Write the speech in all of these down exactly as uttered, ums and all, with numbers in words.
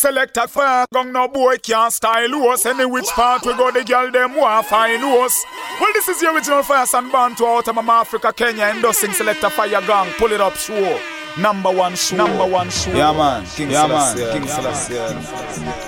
Select a fire gun, no boy can't style us. Any which part we go, the girl them want find us. Well, this is the original Fire and Bantu out of Mama Africa, Kenya, endorsing Select a Fire Gang. Pull it up, show. Number one show. Number one show. Yeah, man. King yeah, Celestia. man. King Yeah, Celestia. man.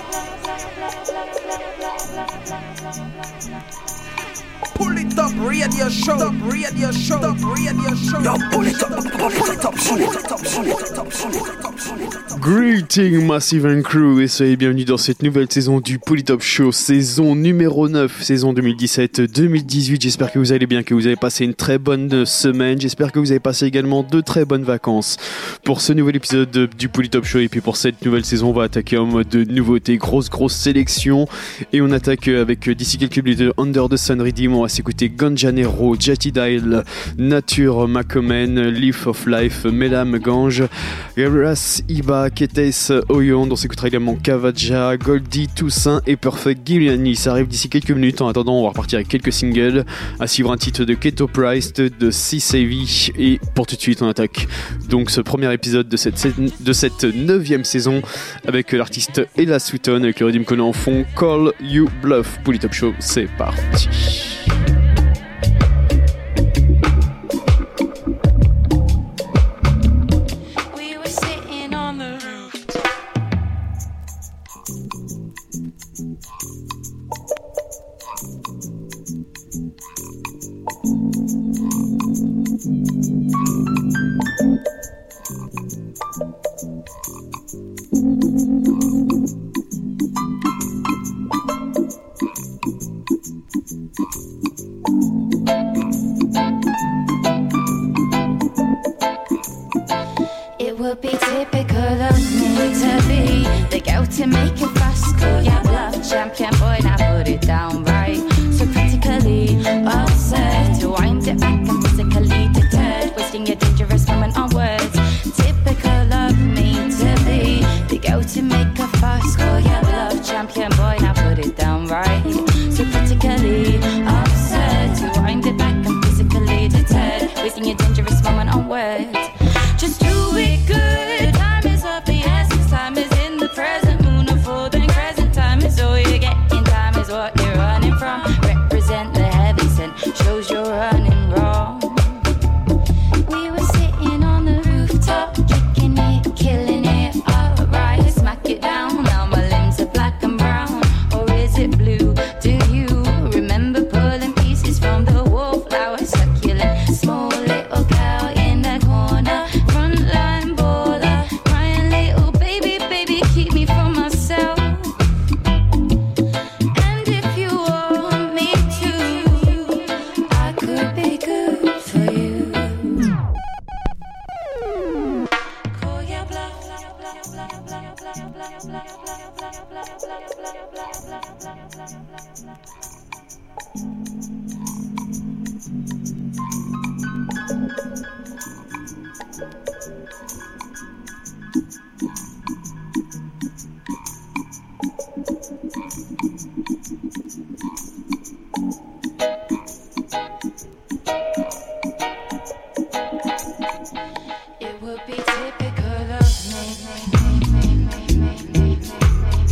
Pull it up, radio show, radio show, radio show. Yo, pull it up, pull it up, pull it up, pull it up, pull it up. Greeting Massive and Crew et soyez bienvenus dans cette nouvelle saison du Pull It Up Show, saison numéro neuf, saison deux mille dix-sept deux mille dix-huit. J'espère que vous allez bien, que vous avez passé une très bonne semaine. J'espère que vous avez passé également de très bonnes vacances. Pour ce nouvel épisode du Pull It Up Show et puis pour cette nouvelle saison, on va attaquer en mode nouveauté, grosse grosse sélection. Et on attaque avec d'ici quelques minutes de Under the Sun Redeem. On va s'écouter Ganjanero, Jetty Dial, Nature Makomen, Leaf of Life, Melam Gange, Ras Iba, Ketes Oyon. On s'écoutera également Kavaja, Goldie, Toussaint et Perfect Giuliani. Ça arrive d'ici quelques minutes. En attendant, on va repartir avec quelques singles. À suivre un titre de Keto Price, de C-Savvy. Et pour tout de suite, on attaque donc ce premier épisode de cette, de cette neuvième saison avec l'artiste Ella Sutton avec le rythme qu'on a en fond. Call You Bluff. Pull It Up Show, c'est parti. It would be typical of me to be the girl to make it fast. Call ya bluff, champion boy, now put it down right. So practically absurd to wind it back and physically deterred, wasting a dangerous moment on words. Typical of me to be the girl to make a fuss. Call ya bluff, champion boy, now put it down right. So practically absurd to wind it back and physically deterred, wasting a dangerous moment on words. Just do it good. Time is of the essence. Time is in the present. Moon of full then crescent. Time is all you're getting. Time is what you're running from. Represent the heavy scent. Shows you're running wrong. We were sitting on the rooftop, kicking it, killing it. Alright, smack it down. Now my limbs are black and brown. Or is it blue? Do you remember pulling pieces from the wallflower? Succulent, small little girl in the corner. Frontline baller, crying little baby, baby, keep me from myself. And if you want me to, I could be good for you. Call your bluff. It would be typical of me.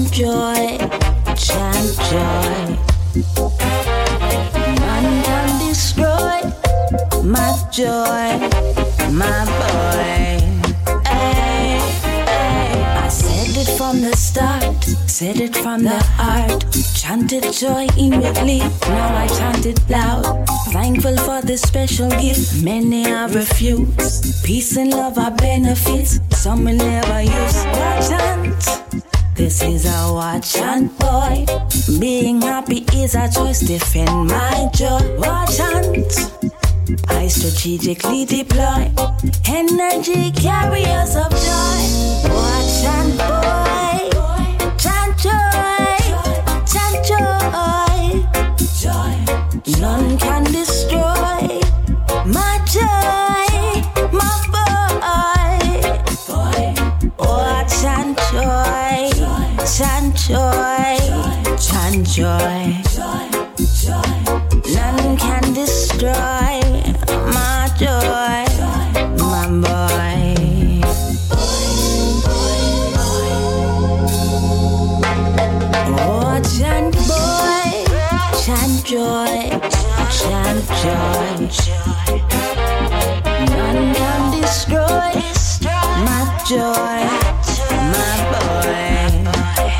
chant joy, chant joy. None can destroy my joy, my boy. Ay, ay. I said it from the start, said it from the heart. Chanted joy immediately, now I chant it loud. Thankful for this special gift, many have refused. Peace and love are benefits, some will never use. Watch chant, this is a watch chant boy. Being happy is a choice, defend my joy. Watch chant, I strategically deploy energy carriers of joy. Watch chant boy, chant joy, chant joy, joy. None can destroy my joy, my boy, boy. Oh, chant joy, chant joy, chant joy. None can destroy my joy, my boy. Oh, chant boy, chant joy, chant joy. None can destroy my joy, my boy.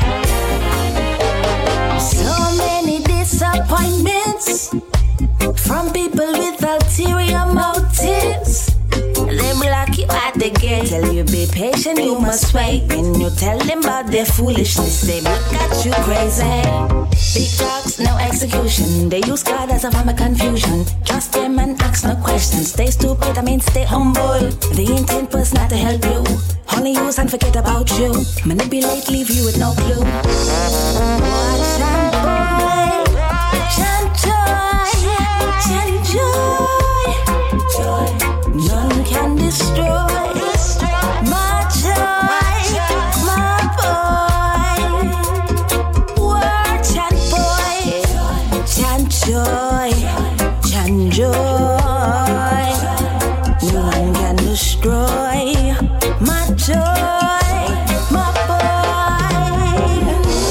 So many disappointments from people with ulterior motives. They block you at the gate, tell you be patient, you must wait. When you tell them about their foolishness, they look at you crazy. Big talks, no execution. They use God as a form of confusion. Trust them and ask no questions. Stay stupid, I mean stay humble. The intent was not to help you, only use and forget about you. Manipulate, leave you with no clue. Watch and boy, chant joy, chant joy, joy. None can destroy my joy, my boy. Word chant boy, chant joy, chant joy. None can destroy my joy, my boy.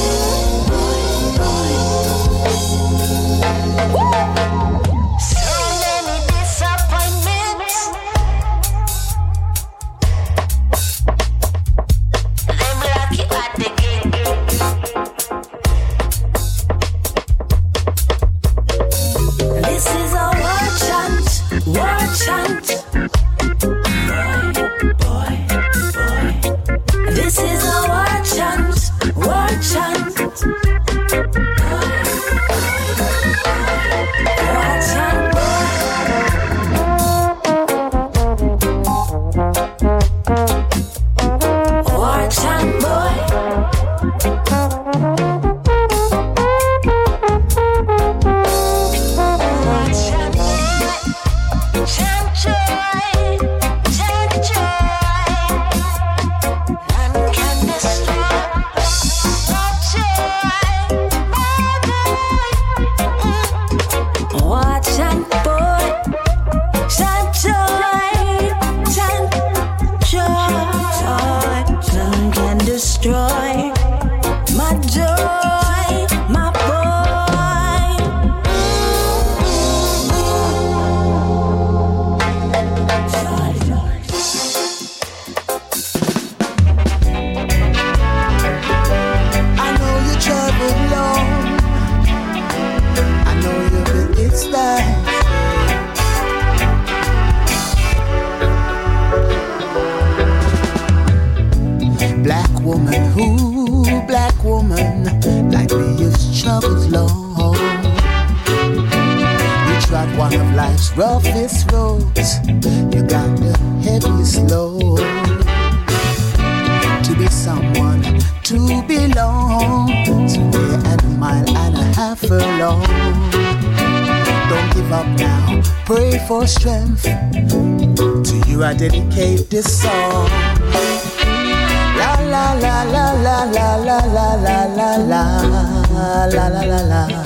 So many disappointments. They block you at the gate. This is a war chant, war chant. Boy, boy, boy. This is a war chant, war chant. War chant, boy. War chant, boy. War chant, boy. Chant joy, chant joy. None can destroy my joy, my boy. War chant, boy. Chant joy, chant joy. None can destroy my joy, my boy. I know you traveled long. I know you've been excited. Black woman, who black woman, like me you've traveled long. You trod one of life's roughest roads. You got the heaviest load. To be someone, to belong, to be at a mile and a half along. Don't give up now, pray for strength. To you I dedicate this song. La la la la la la la la la la la la la la la.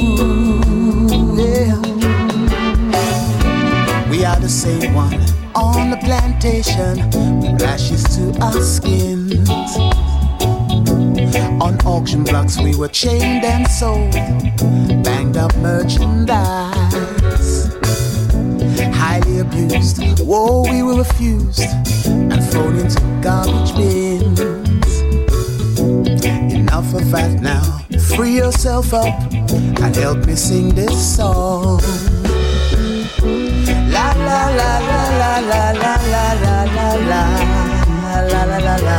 Ooh, yeah. We are the same one on on the plantation with lashes to our skins. On auction blocks we were chained and sold, banged up merchandise. Highly abused, whoa, we were refused and thrown into garbage bins. Enough of that now, free yourself up and help me sing this song. La la la la la la la la la la la la la la la.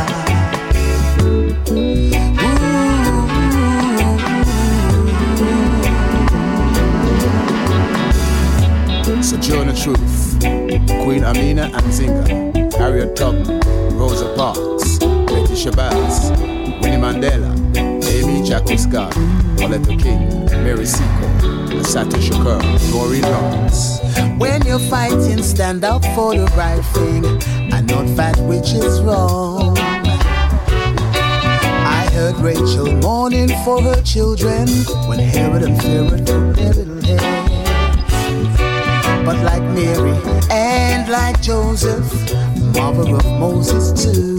Sojourner Truth, Queen Amina and Zinga, Harriet Tubman, Rosa Parks, Betty Shabazz, Winnie Mandela, Amy Jacques Scott, Coletta King, Mary Seacole, Assata Shakur, Maureen Lawrence. When you're fighting, stand up for the right thing and not fight which is wrong. I heard Rachel mourning for her children when Herod and Pharaoh took their little hair. But like Mary and like Joseph, mother of Moses too,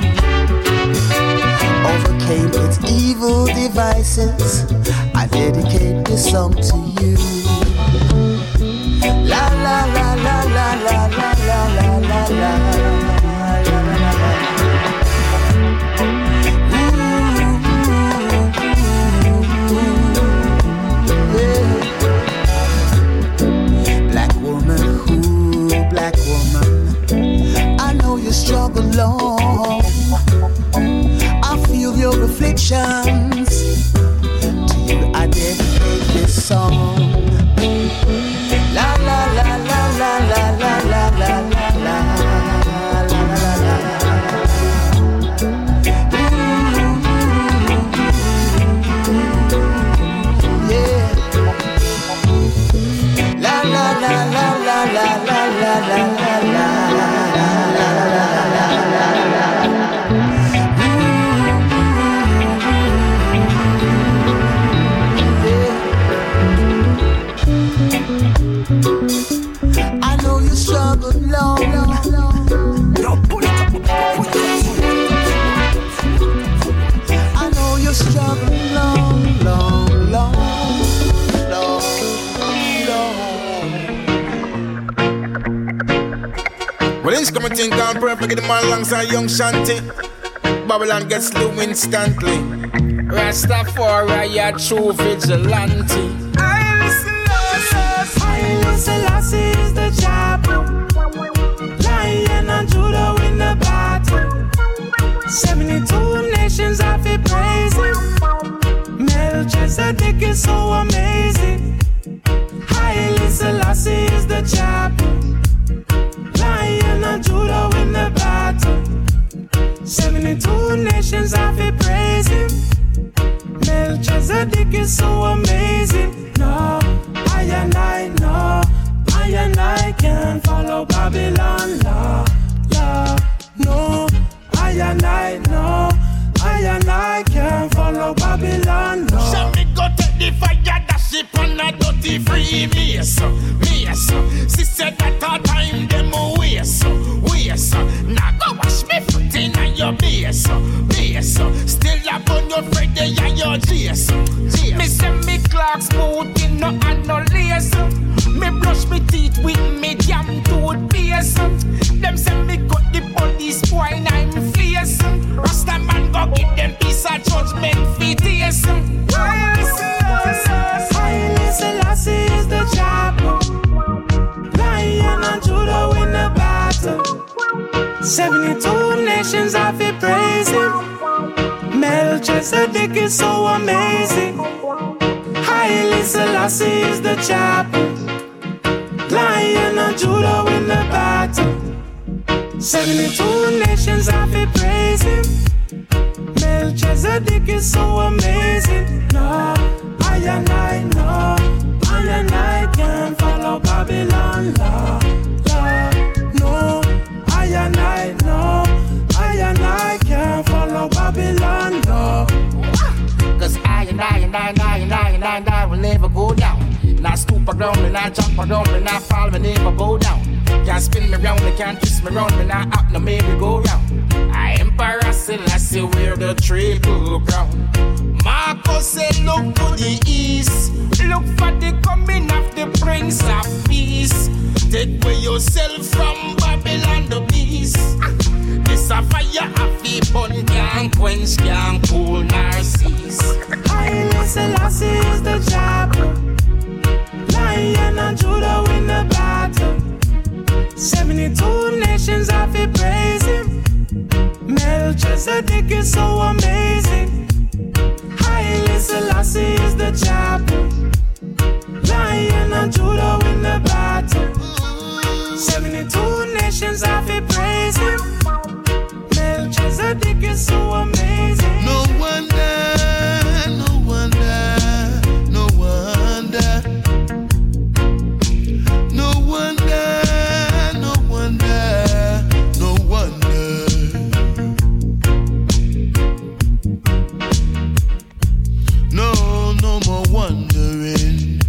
overcame its evil devices, I dedicate this song to you. La la la la la la la la la la la la la la. Black woman, who black woman, I know you struggle long. I feel your afflictions. To you I dedicate this song. La la la la la la la la la la la la la la. Yeah. La la la la la la la la la la la la la. I know you struggled long, long, long. I know you struggled long, long, long, long, long. Well, it's coming thing gone perfect, get the man alongside young Shanti. Babylon gets slew instantly. Rastafari, a true vigilante. Haile Selassie is the chapel. Lion and Judah win the battle. seventy-two nations have been praising. Melchizedek is so amazing. Haile Selassie is the chapel. Lion and Judah win the battle. seventy-two nations have been praising. Melchizedek is so amazing. No, I and I know, I and I can't follow Babylon law, law. No, I and I know, I and I can't follow Babylon law. Shall me go take the fire, dash it on a dirty free me, so, me, so. She said that all time them away, so, we, so. Now go wash me foot in your base, so, base, so. Still up on your Friday and your J, so. Me send me clock smooth in no and no lace. Me brush me teeth with me jam toothpaste. Them send me cut the police boy in I'm face. Rasta man go give them piece of judgment for this. Haile Selassie is the chapel. Lion and Judah win the battle. seventy-two nations have been praising. Melchizedek is so amazing. Haile Selassie is the chapel. Lion and Judah win the battle. seventy-two nations have been praising. Melchizedek is so amazing. No, I and I know, I and I can't follow Babylon law, law. No, I and I know, I and I can't follow Babylon law. Cause I and I and I and I and I and I and I will never go down. Not stupid a ground, me not jump around, me not fall, me never bow down. Can't spin me round, they can't twist me round, me not up, no maybe go round. I Emperor Selassie wear the triple crown. Marcus said look to the east, look for the coming of the Prince of Peace. Take away yourself from Babylon the beast. This a fire of the burn, can't quench, can't cool, nor cease. Haile Selassie is the chapel. Lion and Judah win the battle. Seventy-two nations have to praise him. Melchizedek is so amazing. Haile Selassie is the chapel. Lion and Judah win the battle. Seventy-two nations have to praise him. Melchizedek is so amazing. No wonder, no wonder, no wonder, no wonder, no wonder, no wonder. No, no more wondering.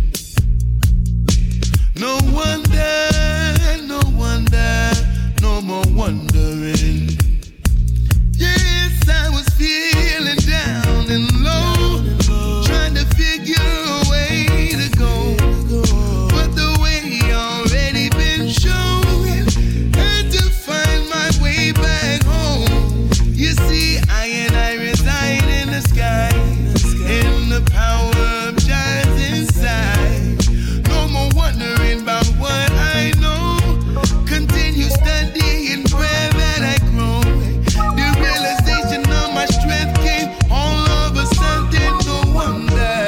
No wonder, no wonder, no more wondering. Yes, I was feeling down and low, trying to figure a way to go, but the way already been shown, had to find my way back home. You see, I and I reside in the sky, in the power of God's inside. No more wondering about what I know, continue studying prayer that I grow. The realization of my strength came all of a sudden, no wonder.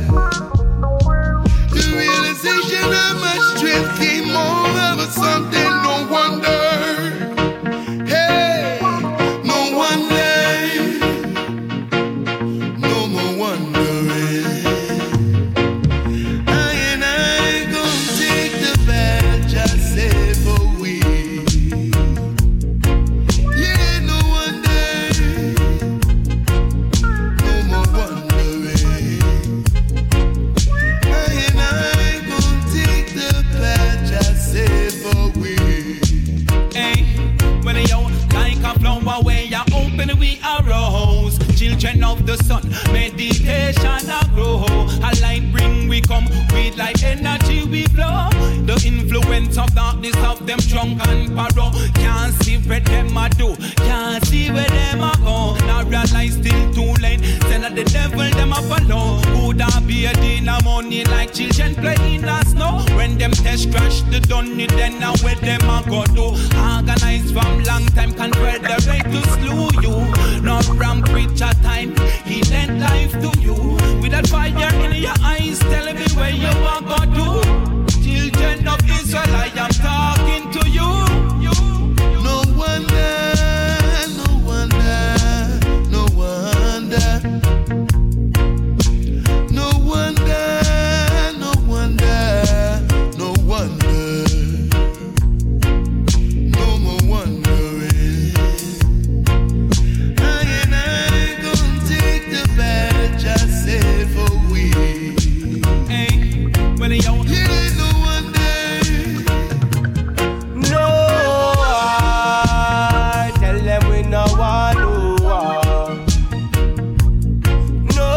The realization of my strength came all of a sudden, no wonder. Hey, no wonder. No more wondering. I and I gon' take the badge I said for we. Yeah, no wonder. No more wondering. I and I gon' take the badge I said for we. Hey, when yo like a flower where you open we arose. Children of the sun, meditation a grow. A light bring we come, with like energy we flow. The influence of darkness of them drunk and borrow. Can't see where them a do, can't see where them a go. Now realize still too late, send at the devil them a follow. Could I be a dinner money like children play in the snow? When them test crash the dunny, then now where them a go do. Organize from long time, confederate to slew you. No ramp with your time, he lent life to you. With that fire in your eyes, tell me where you are go to. Children of Israel, I am talking to you. No wonder, no wonder, no wonder. No wonder, no wonder, no wonder. No more wondering. I and I gon' take the badge I said for we. Hey, when you Yeah, no wonder. No, I tell them we no want to war. No,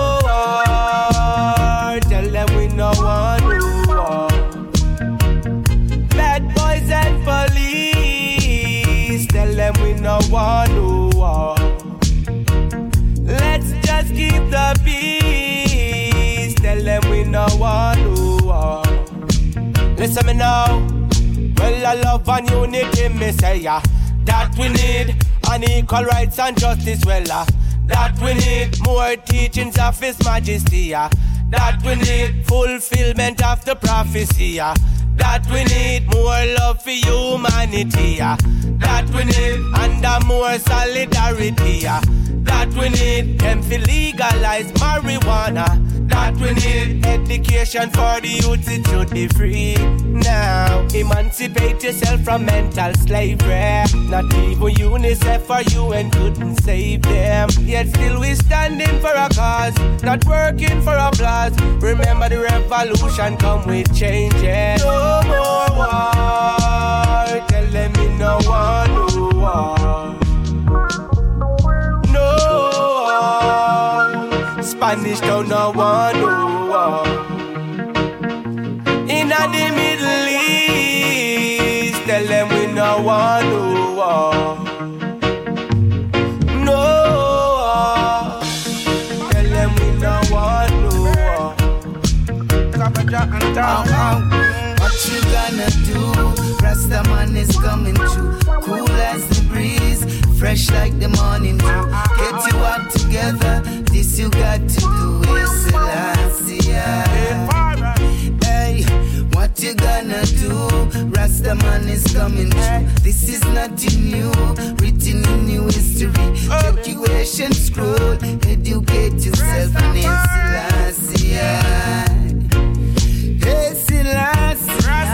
I tell them we no want to war. Bad boys and police, tell them we no want to war. Let's just keep the peace, tell them we no want to war. Listen me now. Well, I love and unity, me say ya. That we need, and equal rights and justice, well, uh, that we need more teachings of His Majesty, yeah. That we need fulfillment of the prophecy, yeah. That we need more love for humanity, yeah. That we need, and a more solidarity, yeah. That that we need. Them fi legalize marijuana, that we need. Education for the youth, it should be free. Now, emancipate yourself from mental slavery. Not even UNICEF or U N couldn't save them. Yet still we standing for a cause, not working for applause. Remember the revolution come with changes. No more war, tell them me no one no war. No war, Spanish don't no one no war. In the Middle East, tell them we no want no war. No war, tell them we no want no war. What you gonna do? Rastaman is coming through, cool as the breeze, fresh like the morning dew. Get you out together, this you got to do. Is Selassie. Hey, what you gonna do? Rastaman is coming through. This is nothing new, written in new history. Evacuation scroll, educate yourself in Selassie. Hey, Selassie.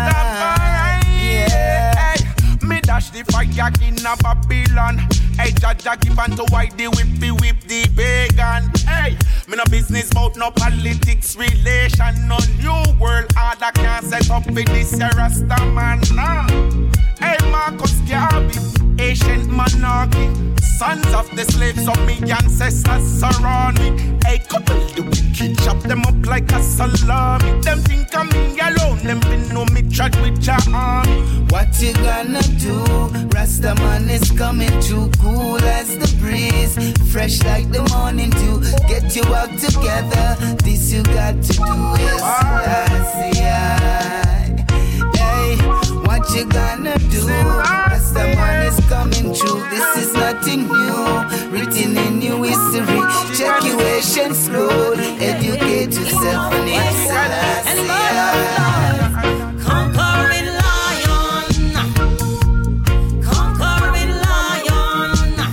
Yeah. Me dash the fire in a Babylon. Hey, Jaja give unto why the whippy whip the pagan. Hey, me no business about no politics relation. No new world order can set up with this Rasta man. Nah. Hey, Marcus Garvey, ancient monarchy. Sons of the slaves of me ancestors surround me. Hey, couple the wicked, chop them up like a salami. Them think of me alone, them fin know me track with your army. What you gonna do? Rastaman is coming through, cool as the breeze, fresh like the morning dew. Get you out together, this you got to do is Selassie. Hey, what you gonna do? Rastaman is coming through, this is nothing new, written in new history. Check your Asian scroll, educate yourself and it's Selassie. Conquering lion, conquering lion.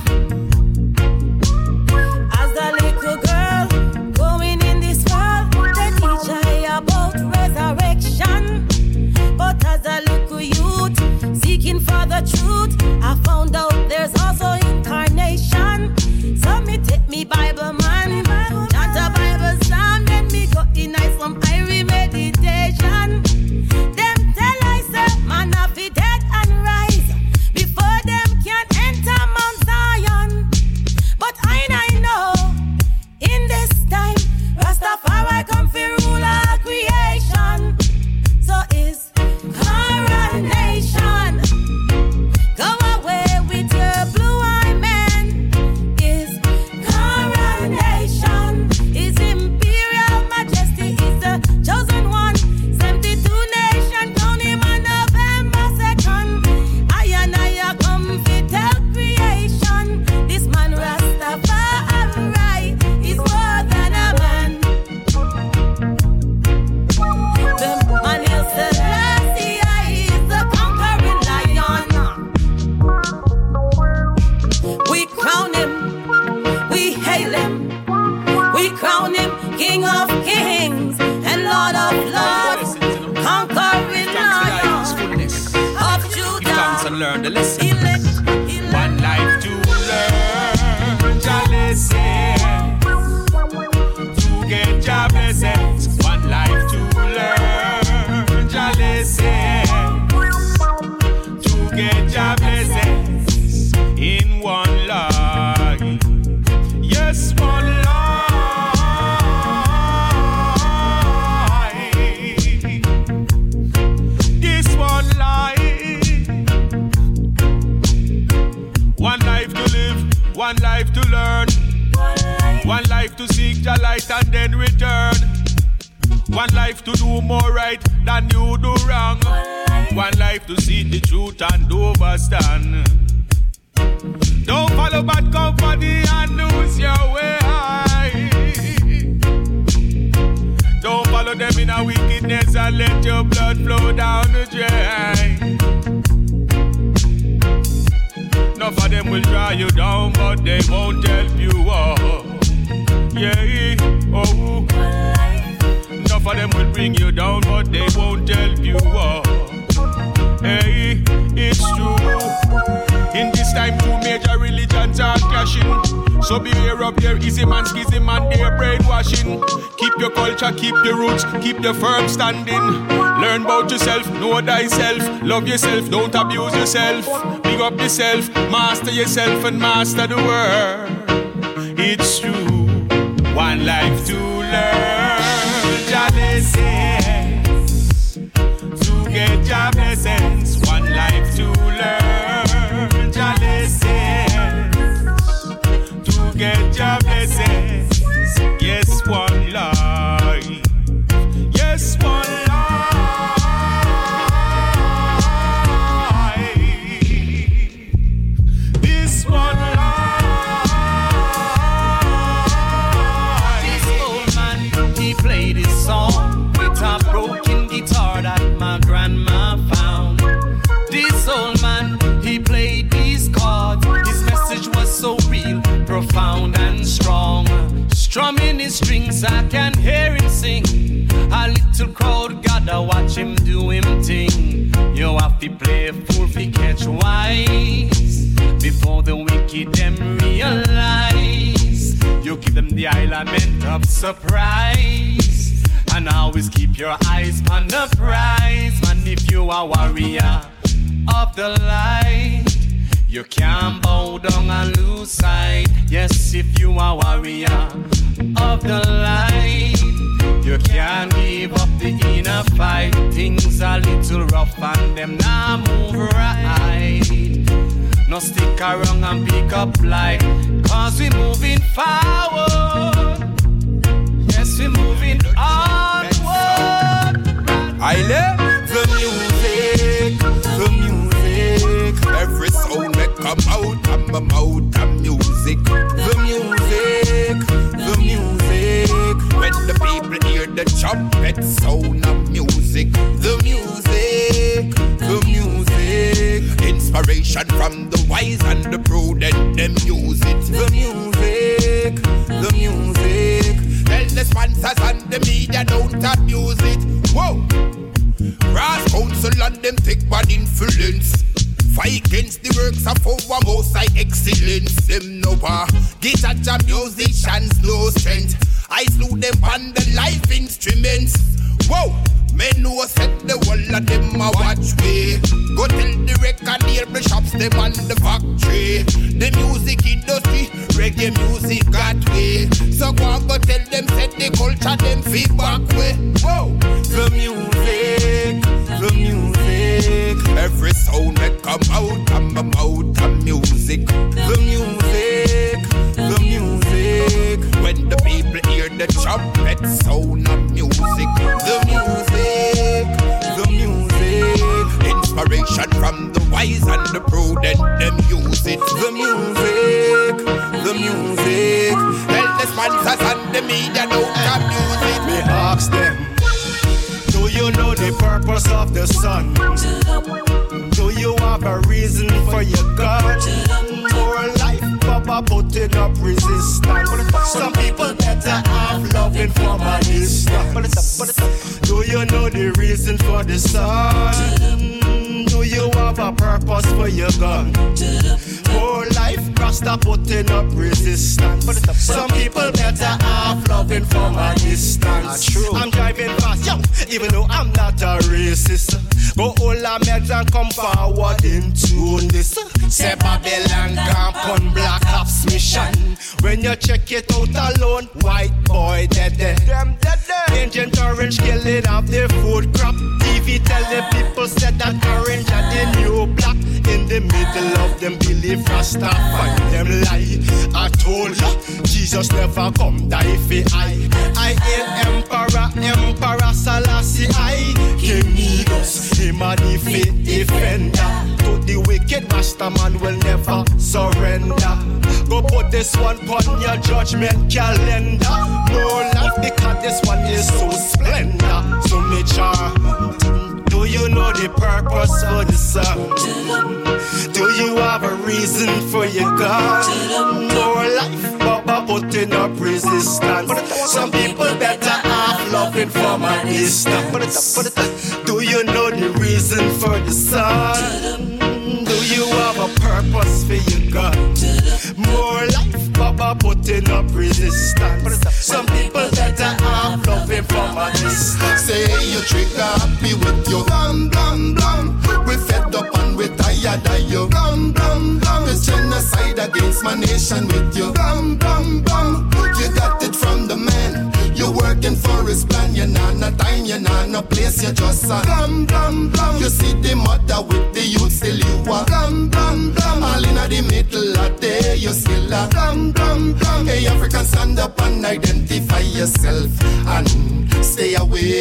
As a little girl going in this world, they teach I about resurrection. But as a little youth seeking for the truth, I found out there's also incarnation. So me take me Bible man, not a Bible psalm, then me go in I some Irie meditation. Them tell I say man have be dead and rise before them can enter Mount Zion. But I I know in this time Rastafari come fi rule all creation. So is coronation. Go away with your blue-eyed man. Is coronation. His imperial majesty is the chosen one. seventy-two nation crown him on November second. I and I come fi tell creation. This man Rastafari is more than a man. The man is Selassie is the conquering lion. We crown him, we hail him, we crown him King of kings and Lord of lords, conquering lion of Judah. And learn the lesson. Elect, elect. One life to learn your lesson, to get your blessings. One life to learn your lesson, to get your blessings in one life. Yes, one life. This one life. One life to live, one life to learn, one life to seek the light and then return, one life to do more right than you do wrong, one life to see the truth and overstand. Don't follow bad company and lose your way. Don't follow them in a wickedness and let your blood flow down the drain. No Enough of them will dry you down, but they won't help you up. Yeah, oh. Enough of them will bring you down, but they won't help you up. Hey, it's true. In this time, two major religions are clashing. So beware of their easy man, skizzy man, their brainwashing. Keep your culture, keep your roots, keep your firm standing. Learn about yourself, know thyself. Love yourself, don't abuse yourself. Big up yourself, master yourself and master the world. It's true. One life to learn your lessons, to get your blessings. One life to learn your lessons, to get your blessings. Yes, one life. Yes, one life. This one life. Played his song with a broken guitar that my grandma found. This old man, he played these chords. His message was so real, profound and strong. Strumming his strings, I can hear him sing. A little crowd gotta watch him do him thing. You have to play a fool fi catch wise before the wicked them realize. You give them the element of surprise, and always keep your eyes on the prize. Man, if you are warrior of the light, you can't bow down and lose sight. Yes, if you are warrior of the light, you can't give up the inner fight. Things are little rough and them now move right. No stick around and pick up light, cause we moving forward. Yes, we moving onward. I love the music, the music. Every sound that come out of my mouth of music. The music, the music. When the people hear the trumpet sound of music. The music, the music. Inspiration from the wise and the prudent, them use it. The music, the music. Tell the sponsors and the media don't abuse it. Whoa! Brass council and them take bad influence. Fight against the works of our most high excellence. Them no power, guitar and musicians no strength. I slew them on the live instruments. Whoa! Men who set the wall of them a watch way. Go tell the record label shops them on the factory. The music industry, reggae music got way. So go and go tell them set the culture them feedback way. Whoa! The music, the music. Every sound that come out of my mouth of music. The music, the music. When the people hear the trumpet sound of music. The music, the music. Inspiration from the wise and the prudent, them use it. The music, the music. Tell the sponsors and the media don't abuse it. Me ask them, do you know the purpose of the sun? Do you have a reason for your God? More life, Papa putting up resistance. Some people better have loving from a distance. Do you know the reason for the sun? Do you have a purpose for your gun? More life, Rasta putting up resistance. Some people better have loving from a distance. I'm driving fast, yo, even though I'm not a racist. Go all our meds and come forward into this. Say Babylon camp on Black Ops mission. When you check it out alone, white boy dead dead. Them dead dead. Agent Orange killing off their food crop. T V tell the people said that orange are the new black. In the middle of them believe Rasta find them lie. I told ya, Jesus never come die for I. I ain't Emperor, Emperor Selassie I. King Negus, him a the faith defender. To the wicked Rasta man will never surrender. Go put this one on your judgment calendar. No life because this one is so splendor. So make sure. Do Do you know the purpose for the song? Do you have a reason for your God? More life, Baba putting up resistance. Some people better off loving from a distance. Do you know the reason for the sun? Do you have a purpose for your God? More life, Baba putting up resistance. Some people better off loving from a distance. Say you trigger happy with your blam blam blam. We fed up and we tired of you. Blam blam blam. It's genocide against my nation with you. Blam blam blam. You got it from the man. You're working for his plan. You're not no time. You're not no place. You're just a blam blam blam. You see the mother with the youth still you are blam blam blam. All in the middle of day you still a blam blam blam. Hey African, stand up and identify yourself and stay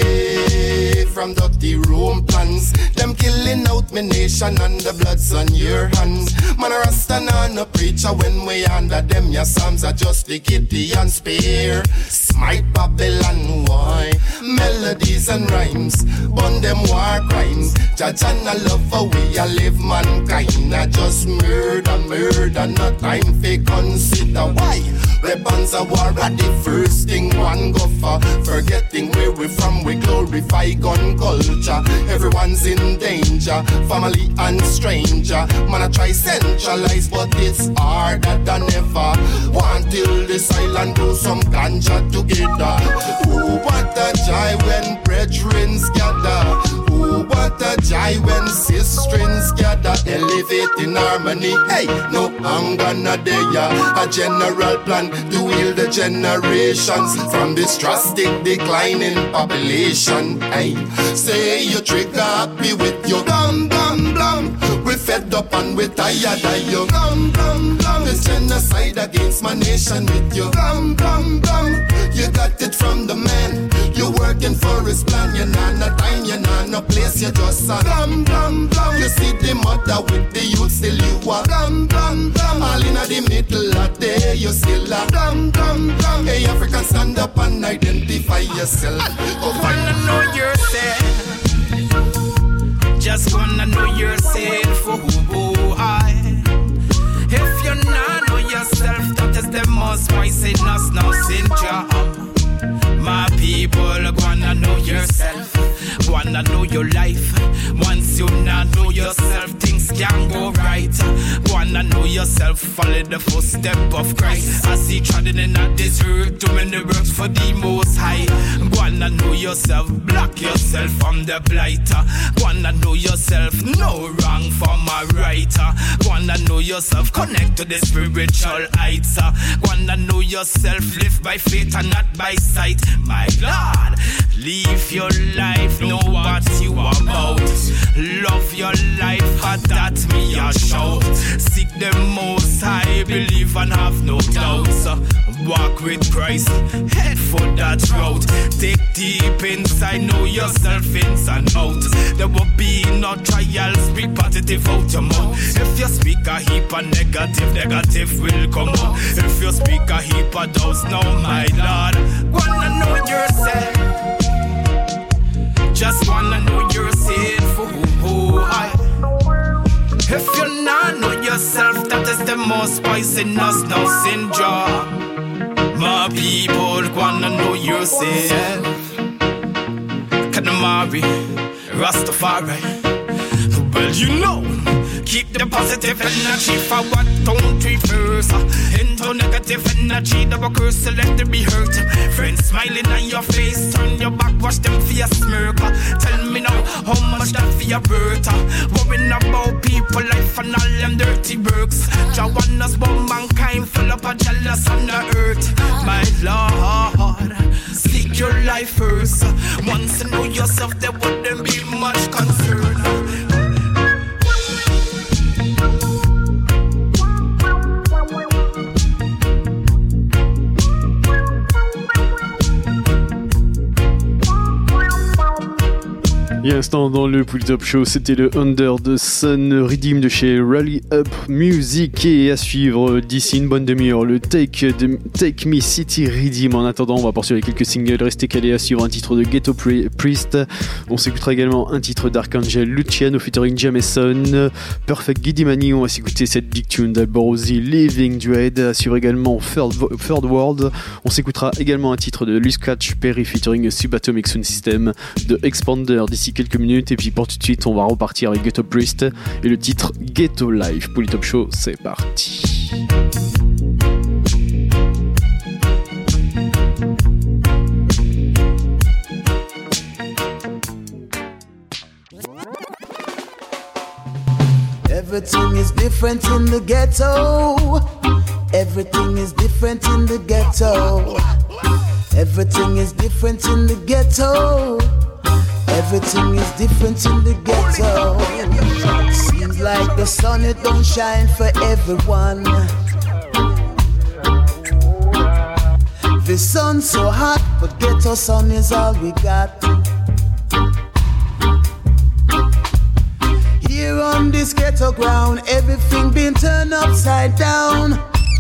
away from dirty Rome plans. Them killing out my nation and the blood's on your hands. Man a Rasta nah no preacher when we under them. Your psalms are just the kitty and spear. Smite Babylon, why? Melodies and rhymes, burn them war crimes. Judge and I love how we a live mankind. I just murder, murder, no time for consider why. Weapons of war are the first thing one go for. Forgetting where we from, we glorify gun culture. Everyone's in danger, family and stranger. Man I try centralize, but it's harder than ever. Want till this island do some ganja together. Ooh, what a joy when brethren gather. Ooh, what a joy when sisterins gather. Elevate in harmony. Hey, no anger, no there. A general plan to heal the generations from this drastic decline in population. Hey, say you trigger happy with your blam blam blam. We fed up and we tired of you. Blam blam blam. This genocide against my nation with you. Blam blam blam. You got it from the man. You're working for his plan. You're not no time. You're not no place. You're just a blam blam blam. You see the mother with the youth still you are blam blam blam. All in the middle of day you still a blam blam blam. Hey African, stand up and identify yourself. Go wanna know yourself. Just wanna know yourself. Oh, oh, I. If you not know yourself, that is the most poisonous no syndrome. My people wanna know yourself, wanna know your life. Once you not know yourself, things can go right. Wanna know yourself, follow the footstep of Christ. As he treading in a desert, too many works for the most high. Wanna know yourself, block yourself from the blight. Wanna know yourself, no wrong from a right. Wanna know yourself, connect to the spiritual heights. Wanna know yourself, live by faith and not by sight. My Lord, live your life, know what you are about. Love your life, but that me a shout. Seek the most high, believe and have no doubts. Walk with Christ, head for that route. Take deep inside, know yourself inside and out. There will be no trials, speak positive out your mouth. If you speak a heap of negative, negative will come out. If you speak a heap of doubts, now my Lord, wanna know yourself. Just wanna know yourself. Oh, oh, I. If you not know yourself, that is the most poisonous no syndrome. My people wanna know yourself. Kanamari, Rastafari. Well, you know, keep the positive energy for what don't reverse. Into negative energy, double curse, so let them be hurt. Friends smiling on your face, turn your back, watch them for your smirk. Tell me now, how much that for your birth? Worrying about people, life and all them dirty works. Joanna's born mankind, full up of jealous on the earth. My Lord, seek your life first. Once you know yourself, there wouldn't be much concern. Il y a un instant dans le Pull Top Show, c'était le Under the Sun Redeem de chez Rally Up Music, et à suivre d'ici une bonne demi-heure le Take, de, Take Me City Redeem. En attendant, on va poursuivre quelques singles, restez calés, à suivre un titre de Ghetto Priest. On s'écoutera également un titre d'Archangel Luciano featuring Jameson, Perfect Giddy Money. On va s'écouter cette big tune d'Alborosi, Living Dread. À suivre également Third, Third World. On s'écoutera également un titre de Luis Catch Perry featuring Subatomic Sound System de Expander d'ici quelques minutes, et puis pour tout de suite on va repartir avec Ghetto Priest et le titre Ghetto Life. Pour le Top Show, c'est parti. Everything is different in the ghetto. Everything is different in the ghetto. Everything is different in the ghetto. Everything is different in the ghetto. Seems like the sun, it don't shine for everyone. The sun's so hot, but ghetto sun is all we got. Here on this ghetto ground, everything been turned upside down.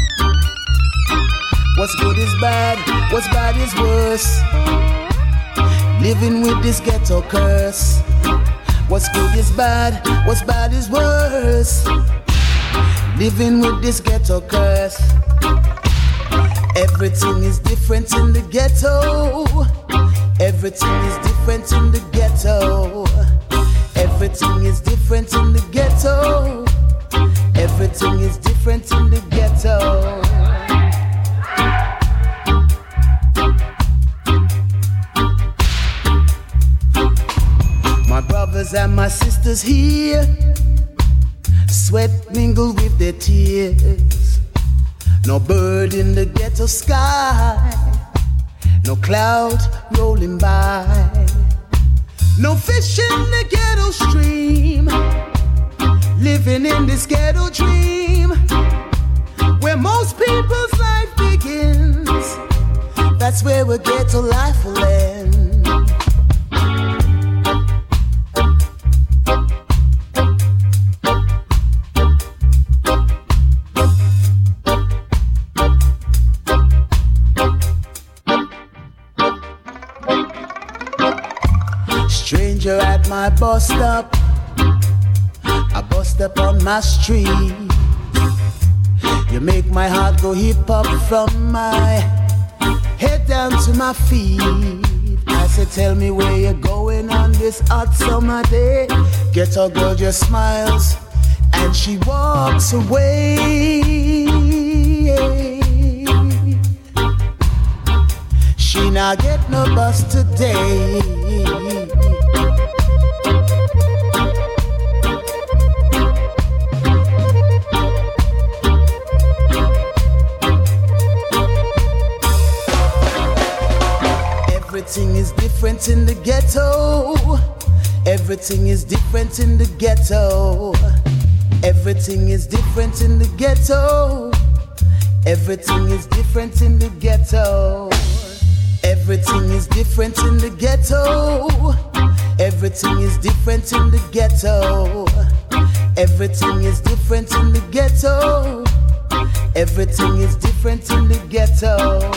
What's good is bad, what's bad is worse. Living with this ghetto curse. What's good is bad, what's bad is worse. Living with this ghetto curse. Everything is different in the ghetto. Everything is different in the ghetto. Everything is different in the ghetto. Everything is different in the ghetto. My brothers and my sisters here, sweat mingled with their tears. No bird in the ghetto sky, no cloud rolling by. No fish in the ghetto stream, living in this ghetto dream, where most people's life begins. That's where a ghetto life will end. Stranger at my bus stop, I bus stop on my street. You make my heart go hip hop from my head down to my feet. I said, tell me where you're going on this hot summer day. Ghetto girl just smiles and she walks away. She not get no bus today. Everything is different in the ghetto. Everything is different in the ghetto. Everything is different in the ghetto. Everything is different in the ghetto. Everything is different in the ghetto. Everything is different in the ghetto. Everything is different in the ghetto. Everything is different in the ghetto.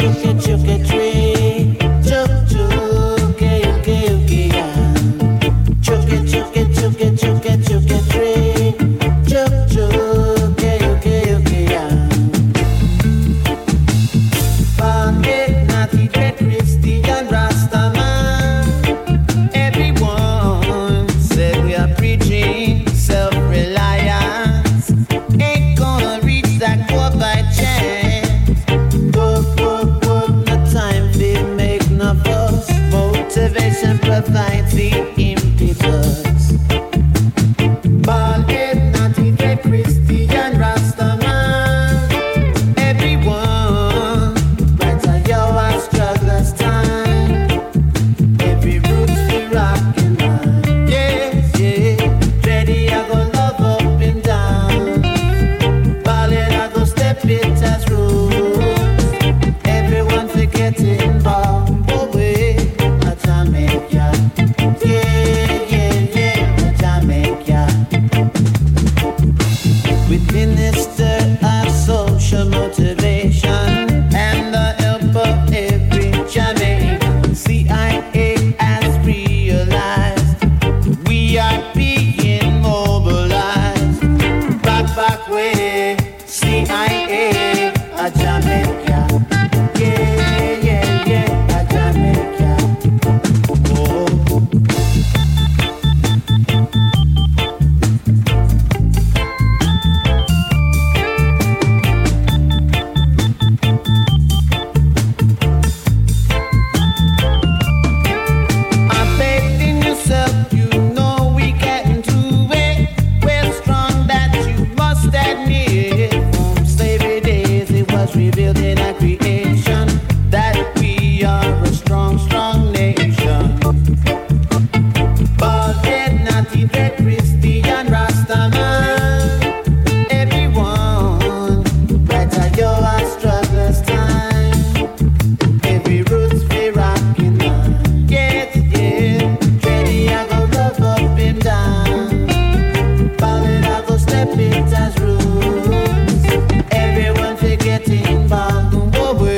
chuke chuke tree. Chuke chuke yuke yuke ya. Chuke chuke chuke chuke chuke tree. Chuke chuke yuke yuke ya. Born in naughty dread Christian Rastaman. Everyone said we are preaching self-reliance. Ain't gonna reach that goal by chance. Work, work, work, no time to make no fuss. Motivation provides the impetus. Born in naughty dread Christian Rastaman. Everyone, right on your struggler's time. Every root's be rockin' on. Yes, yeah. Ready, I go love up and down. Ballin', I go step it as rules. Everyone forget involved. Oh, wait, a Jamaica. Yeah, yeah, yeah, a Jamaica. With minister of social motivation and the help of every Jamaican, C I A has realized we are being mobilized. Back, back way, C I A, a Jamaica. Yeah, yeah, yeah, a Jamaica. Oh. I'm betting yourself, you know we can do it. We're strong, that you must admit. From slavery days, it was revealed in our creation that we are a strong, strong nation. Bald-head, naughty, dread, Christian Rastaman. Everyone, right at your struggler's time. Every root's be rockin' on. Yes, yeah. Ready, I go love up and down. Ballin', I go step it as rules. Everyone forgetting bound. Oh,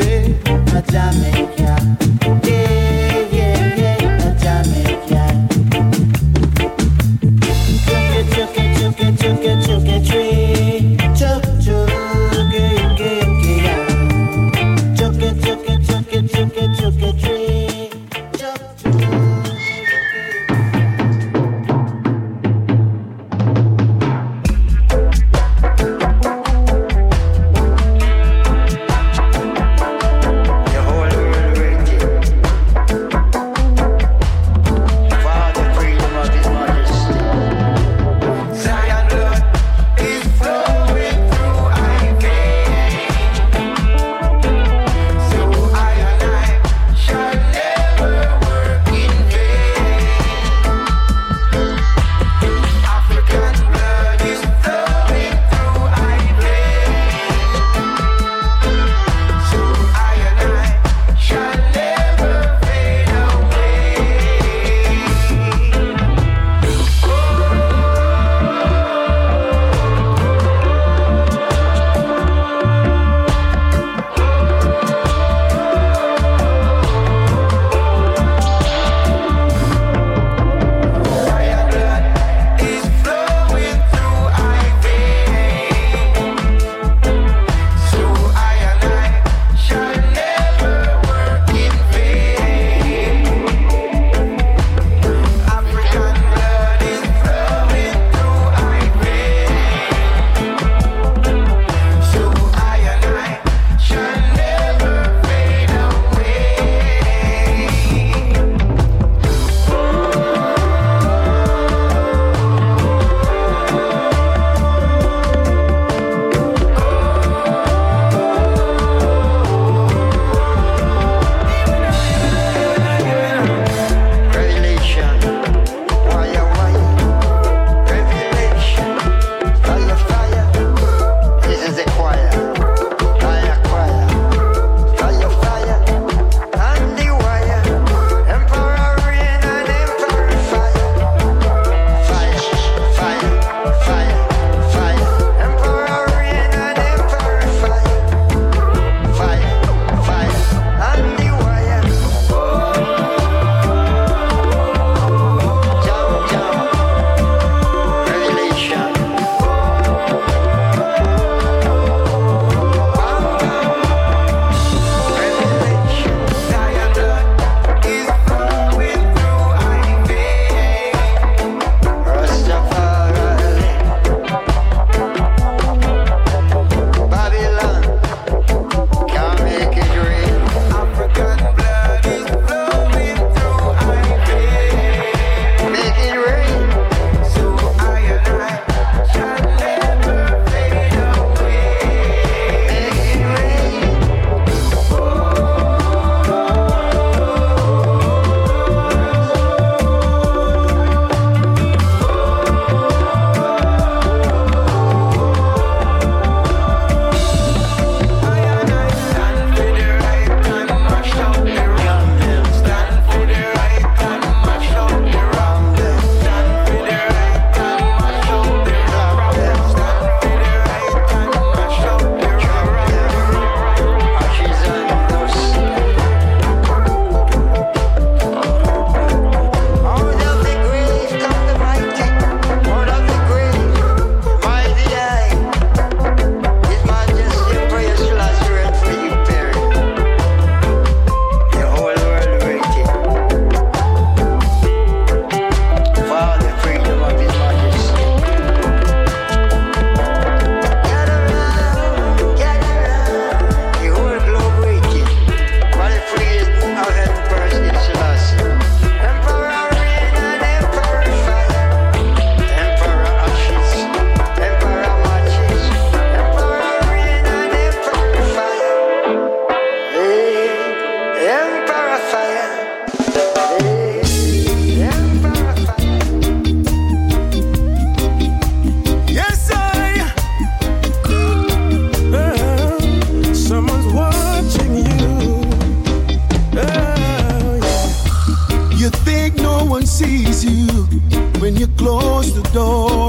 Sees you when you close the door.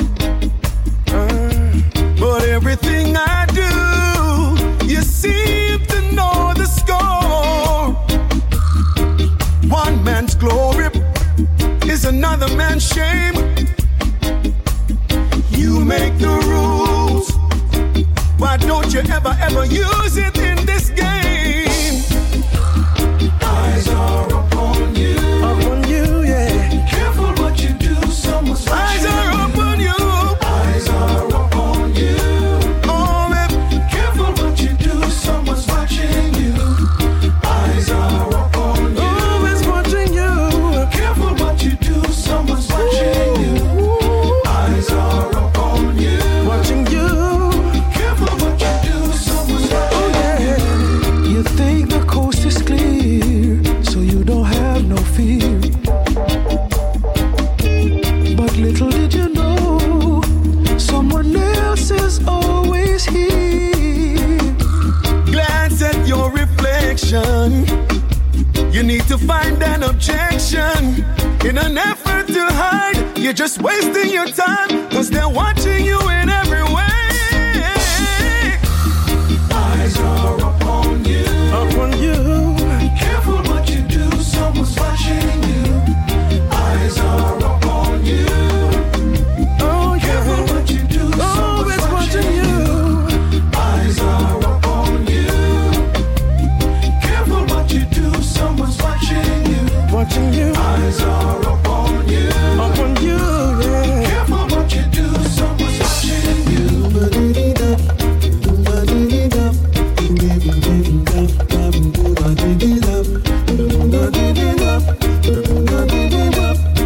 Uh, but everything I do, you seem to know the score. One man's glory is another man's shame. You make the rules. Why don't you ever, ever use it in this game? Eyes are upon you. Upon you. Eyes are upon you. Eyes are upon you. Oh, babe. Careful what you do, someone's watching you. Eyes are upon you. Always watching you. Careful what you do, someone's watching you. Eyes are upon you. Watching you. Careful what you do, someone's watching you. Oh, yeah. You think the coast is clear, so you don't have no fear. Little did you know, someone else is always here. Glance at your reflection. You need to find an objection. In an effort to hide, you're just wasting your time, cause they're watching you in every way. Eyes are upon you. Upon you. Careful what you do, someone's watching you. Eyes are upon you. Watching you, eyes are upon you, upon you, yeah. Careful what you do, someone's watching you. Ba-dee-dee-da, ba-dee-dee-da, ba-dee-dee-da, ba-dee-dee-da, ba-dee-dee-da, ba-dee-dee-da.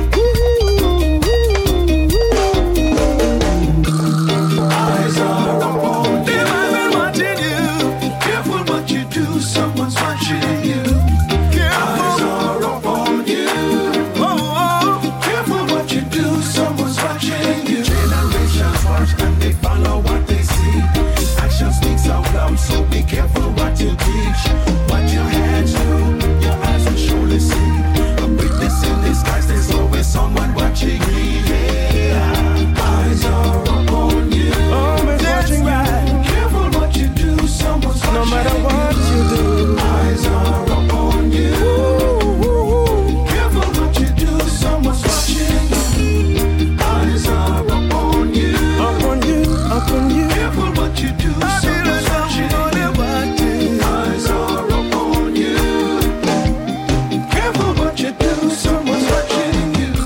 Eyes are upon you. I've been watching you. Careful what you do, someone's watching you. So be careful what you teach, what your hands do, your eyes will surely see. A witness in disguise, there's always someone watching me. Yeah. Eyes are upon you. Always watching right. You. Careful what you do, someone's watching. No matter what you do, eyes are upon you. Ooh, ooh, ooh. Careful what you do, someone's watching you. Eyes are upon you. Upon you, upon you. Careful what you do, someone's watching. Eyes are upon you. Careful what you do, someone's watching you.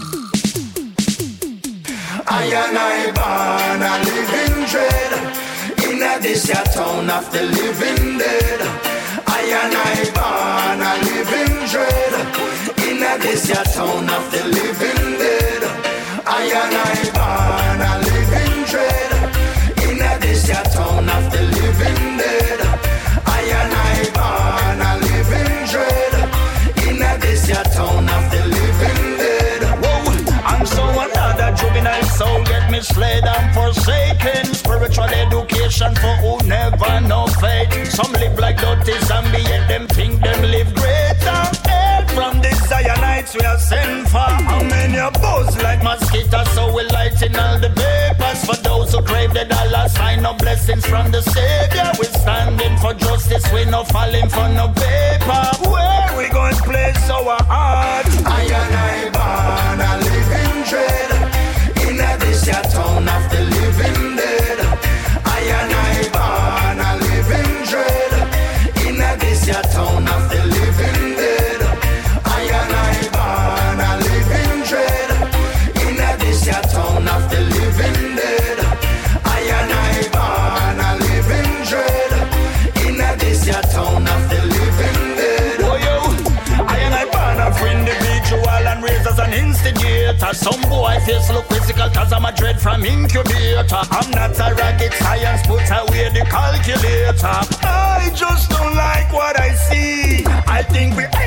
I and I born a living dread in a this ya town of the living dead. I and I born a living dread in a this ya town of the living dead. I and I born a living dread in a this ya town of the living dead. I and I born a living dread in a this ya town of the living dead. Whoa, and so another juvenile soul get misled and forsaken. Spiritual education for who never know faith. Some live like dirty zombie, yet them think them live greater. Help from the Zionites we are sent for. How many are buzz like mosquitoes, so we lighten all the papers. For those who crave the dollar sign of blessings from the Savior. We standing for justice, we no falling for no paper. Where we going to place our heart? I and I born a living dread in a this ya town of the living dead. I and I born a living dread in a this ya town of the living dead. I and I born a living dread in a this ya town of the living dead. I and I born a living dread in a this ya town of the living dead. Oh yo, I and I born a friend individual and raised as an instigator. Some boy face look physical cause I'm a dread from incubator. I'm not a rocket science, put away the calculator. I just don't like what I see. I think we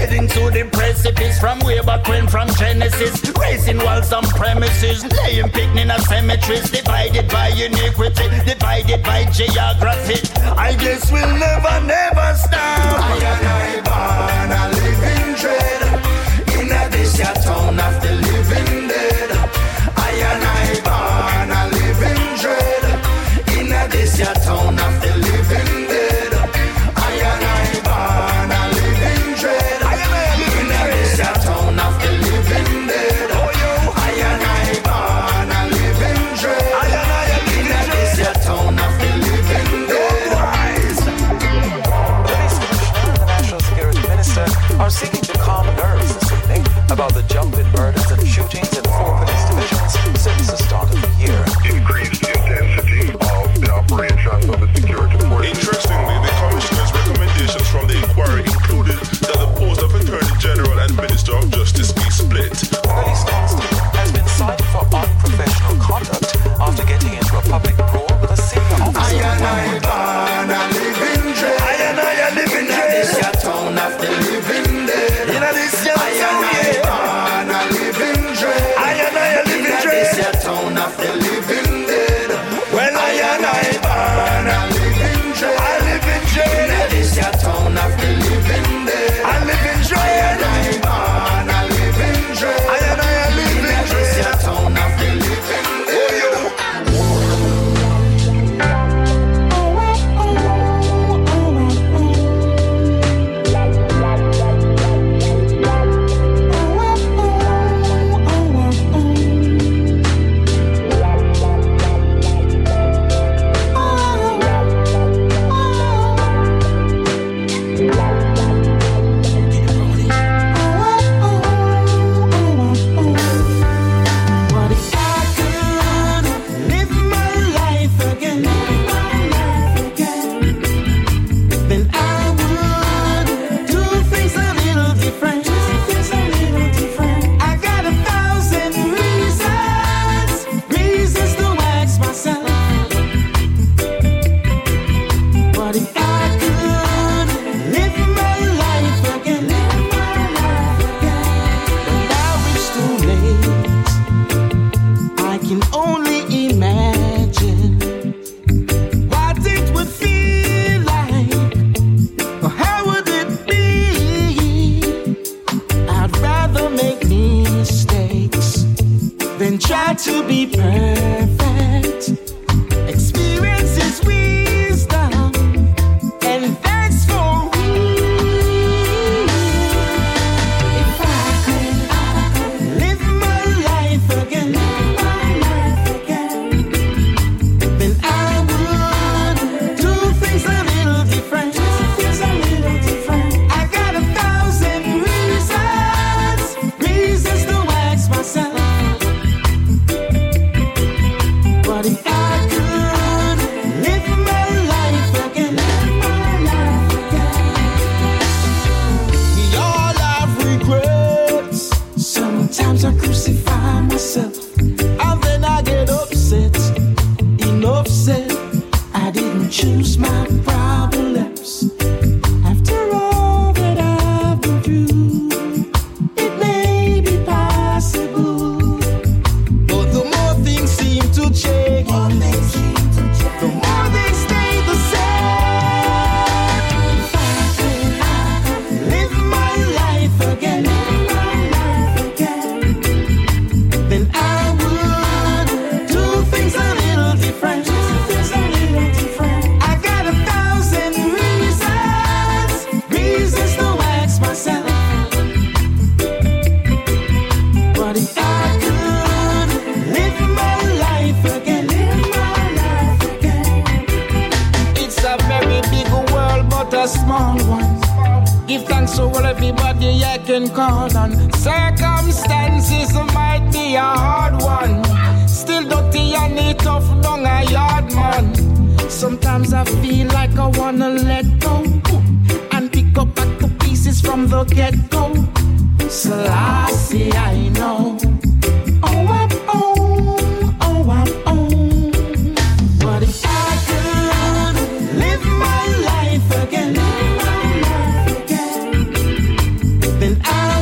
the precipice from way back when, from Genesis. Raising walls on premises, laying picnic in a cemeteries. Divided by iniquity, divided by geography. I guess we'll never, never stop. I and I born a living dread in a this your town of the living dead. I and I born a living dread in a this your town of the living dead. I and I born a living dread in a this your town of the living dead. I and I born a living dread in a this your town of the living dead. Police Commissioner and the National Security Minister are seeking to calm nerves this evening about the jump in murders and shootings in four police divisions since the start of the year. Increased intensity of the operations of the security forces. Interestingly, the Commissioner's recommendations from the inquiry included that the post of Attorney General and Minister of Justice be split. Police constable has been cited for unprofessional conduct after getting into a public brawl with a senior officer. I and I born a living dread. I and I a living dread. In this your town of the living dead. In this your town, yeah. Born a living dread. I and I a living dread. In this your town of the living dead. Well, I and I born a living dread. I live in dread. In this your town of the living dead. I live in dread. I and I born a living dread. I and I a living dread. In this your town of the living dead. Try to be perfect. Experience is wisdom, and that's for me. If I could, I could live my life again, my life again, then I would do things a little different. Do things a little different. I got a thousand reasons, reasons to ask myself. But if I could live my life again, my life again. We all have regrets. Sometimes I crucify myself, and then I get upset. Enough said, I didn't choose my problems. After all that I've been through, it may be possible. But the more things seem to change, the more they stay the same. If I could, I could live my life again, my life again, then I would do things a little different. Do things a little different. I got a thousand reasons, reasons to ask myself. But if I could live my life again, live my life again. It's a very big world, but a small one. Give thanks to all everybody I can call on. Circumstances might be a hard one. Still dirty and it tough down a yard man. Sometimes I feel like I wanna let go and pick up back the pieces from the get-go. Selassie, I know. Oh, I'm on, oh, I'm on. But if I could live my life again, my life again, then I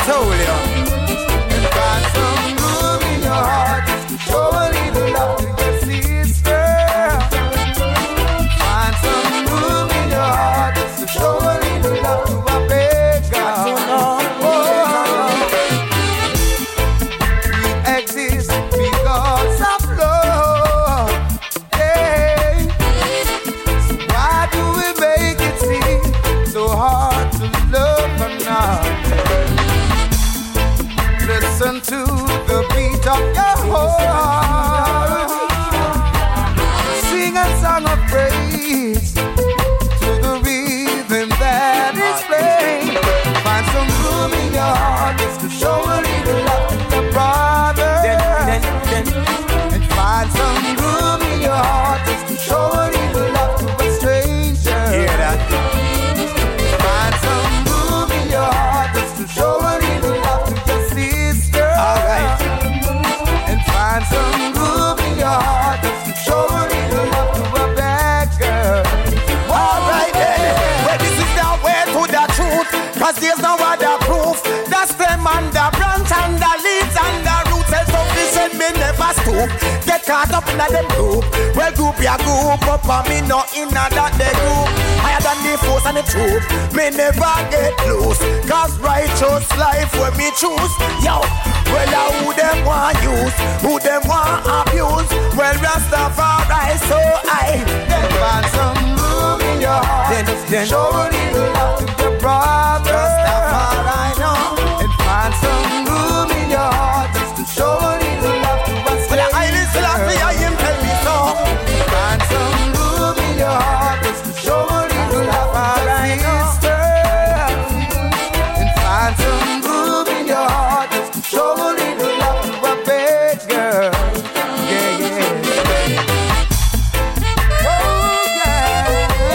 told you. And find some room in your heart just to show a little love to your sister. Find some room in your heart just to show a little love to a beggar. Oh, we exist because of love. Hey, so why do we make it seem so hard to love another? Listen to the beat of your heart. Sing a song of praise to the rhythm that is playing. Find some room in your heart just to show a little love to your brother. And find some room in your heart just to show a little love to a stranger. Hear that? Find some room in your heart just to show a little love to your sister. Alright. And find some room in your heart just to show a little love to a beggar. Alright then. Well, this is the way to the truth, cause there's no other proof. That's them and the branch and the leaves and the roots. Self-sufficient me never stoop. Get caught up in them group. Well, group ya group up and me no in that the group. Higher than the force and the truth. Me never get loose, cause righteous life when me choose. Yo, well, uh, who them want use, who them want abuse. Well, Rastafari, so I then find some room in your heart. Then, then show a little love to your brother. Rastafari, no. And find some room in your heart just to show a little love to us. Well, I listen, I say I am tell me so. Find some room in your heart just to show a little love to your sister. And find some room in your heart just to show a little love to a beggar. Yeah, yeah. Oh, yeah.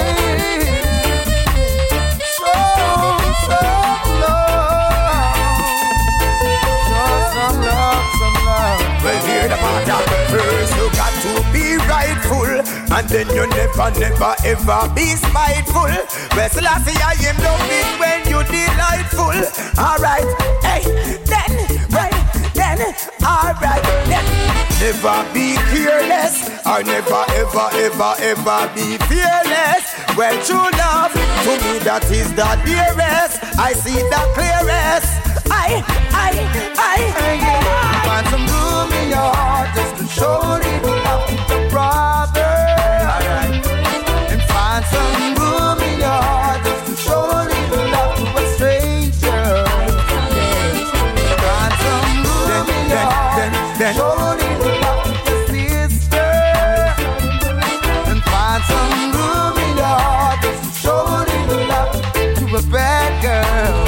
So, so love. Show some love, some love. Well, hear the matter. First you got to be rightful, and then you never, never, ever be spiteful. Well, Selassie, I am love it when you delightful. Alright, hey, then, right, then, alright, then. Never be careless, or never, ever, ever, ever be fearless. Well, true love, to me that is the dearest. I see the clearest. I, I, I, I. Find some room in your heart just to show a little love to your brother. Alright. And find some room in your heart just to show a little love to a stranger. Yeah. Find some room in your heart to show a little love to your sister. And find some room in your heart just to show a little love to a bad girl.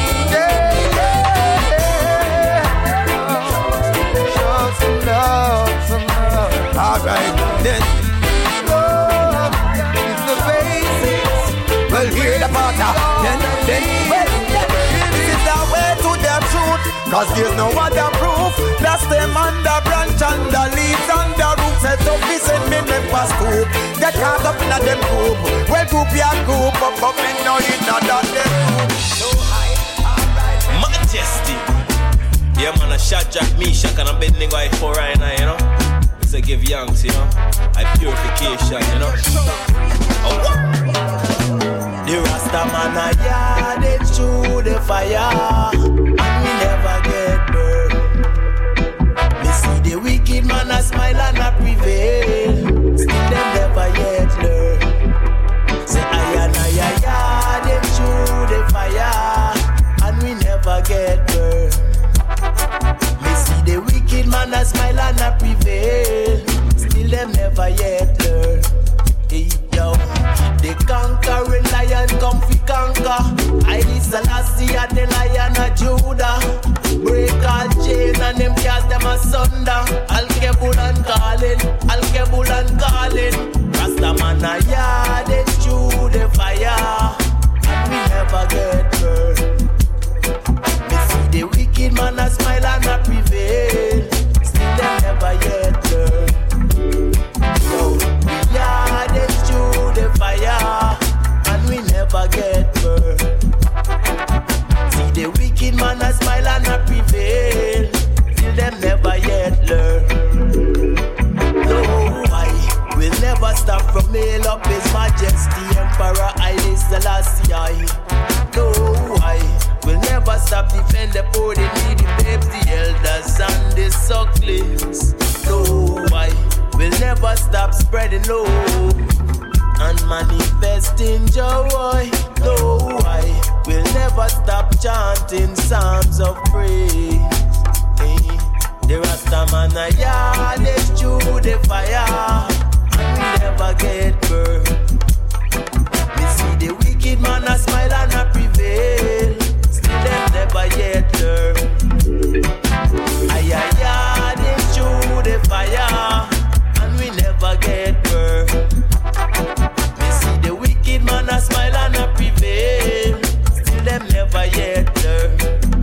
Love, some love. Alright, then love is the basics. Well, hear the matter. Then, then, well, this is the way to the truth, cause there's no other proof. That's them and the branch and the leaves and the roots. Set up this and me never scoop. Get caught up in a them group. Well, group ya group up, up in no in that them group. So high, alright. Majesty. Yeah, man, a shot Jack me, shot and a bending guy for right now, you know. It's a give youngs, you know. I purification, you know. Oh, what? The Rasta man a yard it through the fire, and we never get burned. Me see the wicked man a smile and a prevail, still them never yet learn. Say I and I yard it through the fire, and we never get burned. The wicked man a smile and a prevail, still them never yet learn. Hey yo, the conquering lion come fi conquer. I Selassie and the lion of Judah. Break all chain and them cast them asunder. Al-Kebul and calling, Al-Kebul and calling. Rasta man a yard it through the fire, and we never get burned. The wicked man a smile and a prevail, still them never yet learn. So we are it through the fire, and we never get burned. See the wicked wicked man a smile and a prevail. Till them never yet learn. No, I will never stop from hail up His Majesty Emperor Haile Selassie. No, I will never stop defend the poor, the needy, babes, the elders and the sucklings. No, I will never stop spreading love and manifesting joy. No, I will never stop chanting psalms of praise. Hey, the Rastaman a yard is through the fire and we never get burned. We see the wicked man a smile and a prevail. Still them never yet learn. Ay ay ay, they through the fire and we never get burned. We see the wicked man a smile and a prevail. Still them never yet learn.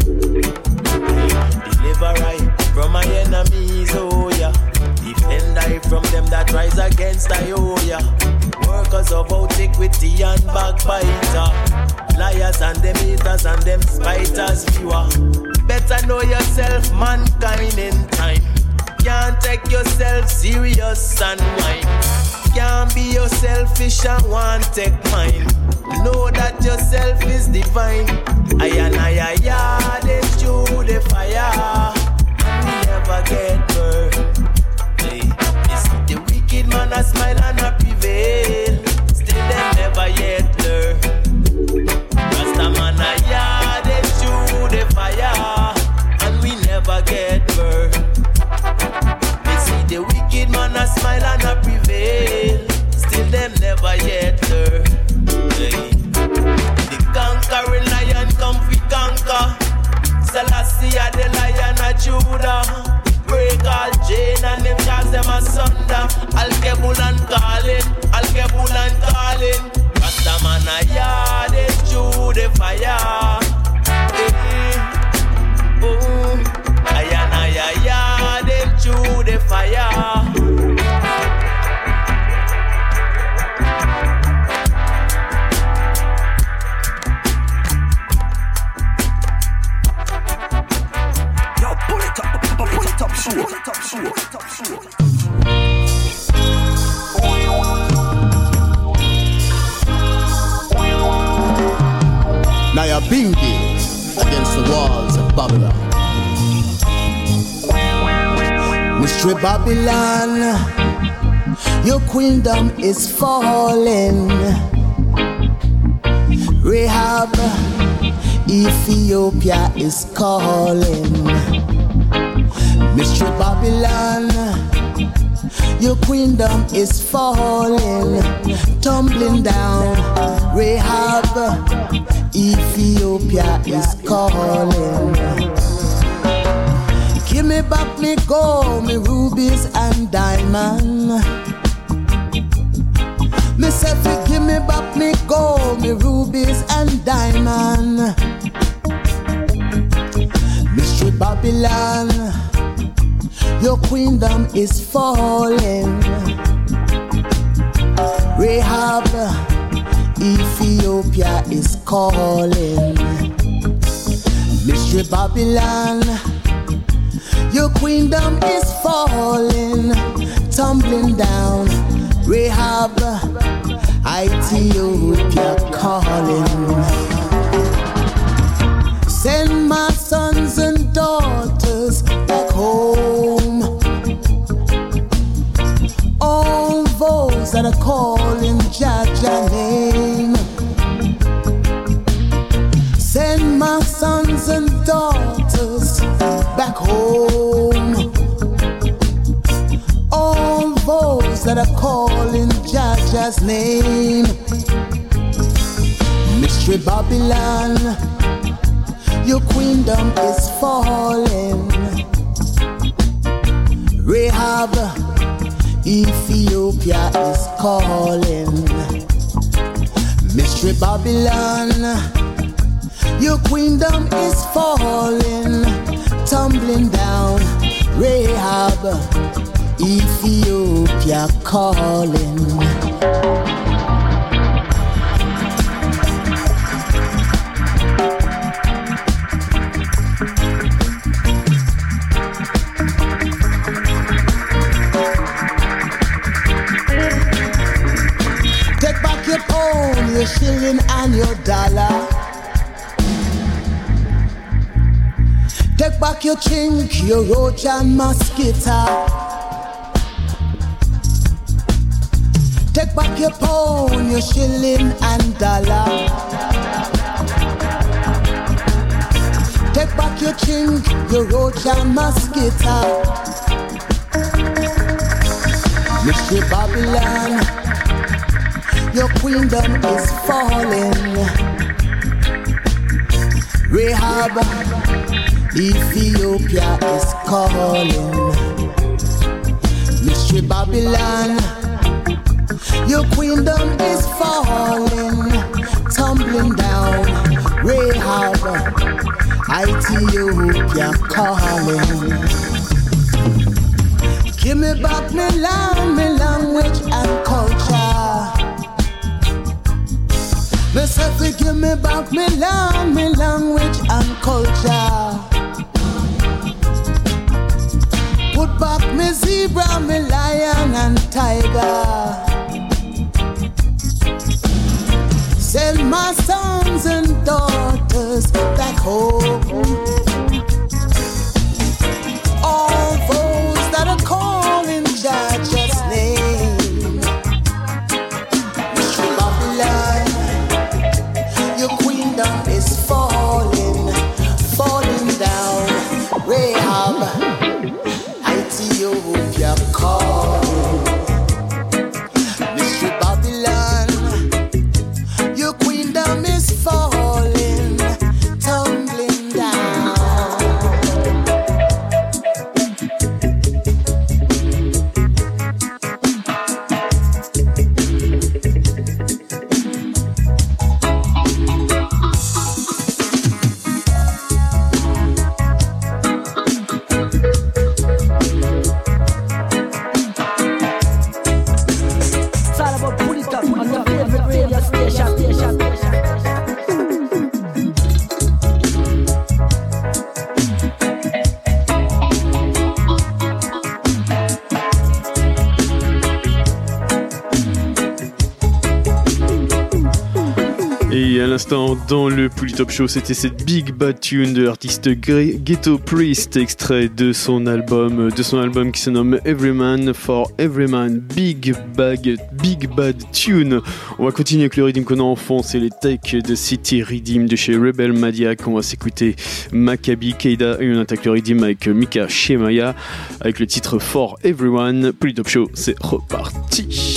Deliver I from my enemies, oh yeah. Defend I from them that rise against I, oh yeah. Workers of antiquity and backbiter, liars and them haters and them spiters, viewer. Better know yourself, mankind in time. Can't take yourself serious and whine. Can't be your selfish and want take mine. Know that yourself is divine. I and I, I, I, they through the fire. We never get burned. Hey, it's the wicked man a smile and a prevail. Still them never yet learn. Rastaman a yard, they through the fire, and we never get burned. We see the wicked man a smile and a prevail. Still them never yet learn. Hey. The conquering lion come fi conquer. Selassie the lion of Judah. Break all chain and them cause them asunder. Al-Kebul and calling, Al-Kebul and calling. Rastaman a yard is through the fire. Hey. Oh, ayan ayan yard is through the fire. Now you're Bingi against the walls of Babylon. Mystery Babylon, your queendom is falling. Rahab, Ethiopia is calling. Mystery Babylon, your queendom is falling, tumbling down. Rahab, Ethiopia is calling. Give me back me gold, me rubies and diamond. Me say fi give me back me gold, me rubies and diamond. Mystery Babylon, your queendom is falling. Rahab, Ethiopia is calling. Mystery Babylon, your queendom is falling, tumbling down. Rahab, Ethiopia calling. Send my sons and daughters back home. All those that are calling Jaja name. Send my sons and daughters back home. All those that are calling Jaja's name. Mystery Babylon, your queendom is falling. Rahab, Ethiopia is calling. Mystery Babylon, your queendom is falling, tumbling down. Rahab, Ethiopia calling. Take back your chink, your roach and mosquito. Take back your pound, your shilling and dollar. Take back your chink, your roach and mosquito. Mystery Babylon, your queendom is falling. Rahab, Ethiopia is calling. Mystery Babylon, your queendom is falling, tumbling down. Rahab, Ethiopia calling. Give me back me land, me language and culture. Me say give me back me land, me language and culture. Put back me zebra, me lion and tiger. Send my sons and daughters back home. All those that are calling Judge's name. Mystery Babylon, your queendom is falling, falling down. Rahab, Ethiopia calling. Mystery Babylon, your queendom is falling, tumbling down. It's all about put it up on your favorite radio station. station, Et à l'instant, dans le Polytop Show, c'était cette Big Bad Tune de l'artiste Ghetto Priest, extrait de son album, de son album qui se nomme Everyman for Everyman. Big Bag, Big Bad Tune. On va continuer avec le rythme qu'on a en fond, c'est les Take de City Rhythm de chez Rebel Madiak. On va s'écouter Maccabi Keida et on attaque le rythme avec Mika Shemaya avec le titre For Everyone. Polytop Show, c'est reparti.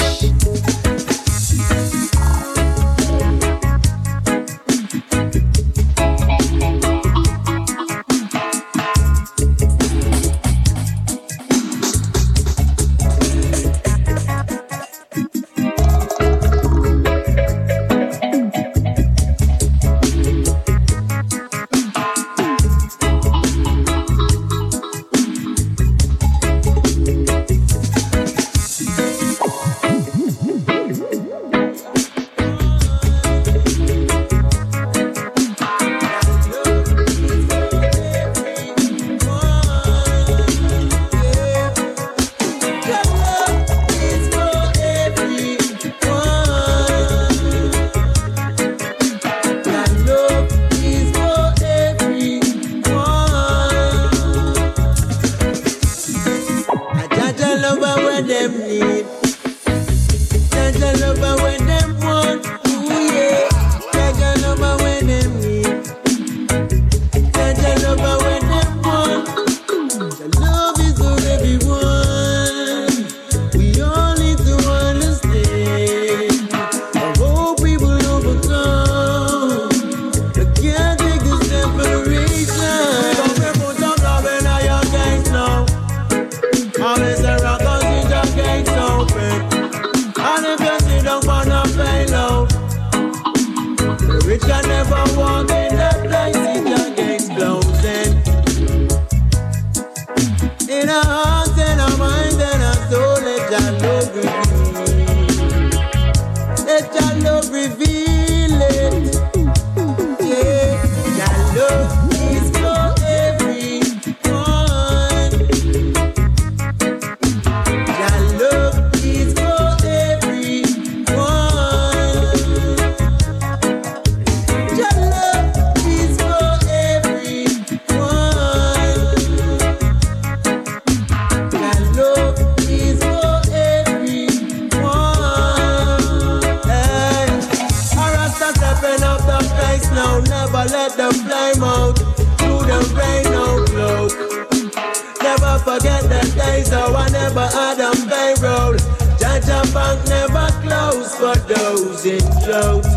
climb out through the rain, no cloak. Never forget the days how I never had a payroll. Jaja Bank never closed for those in clothes.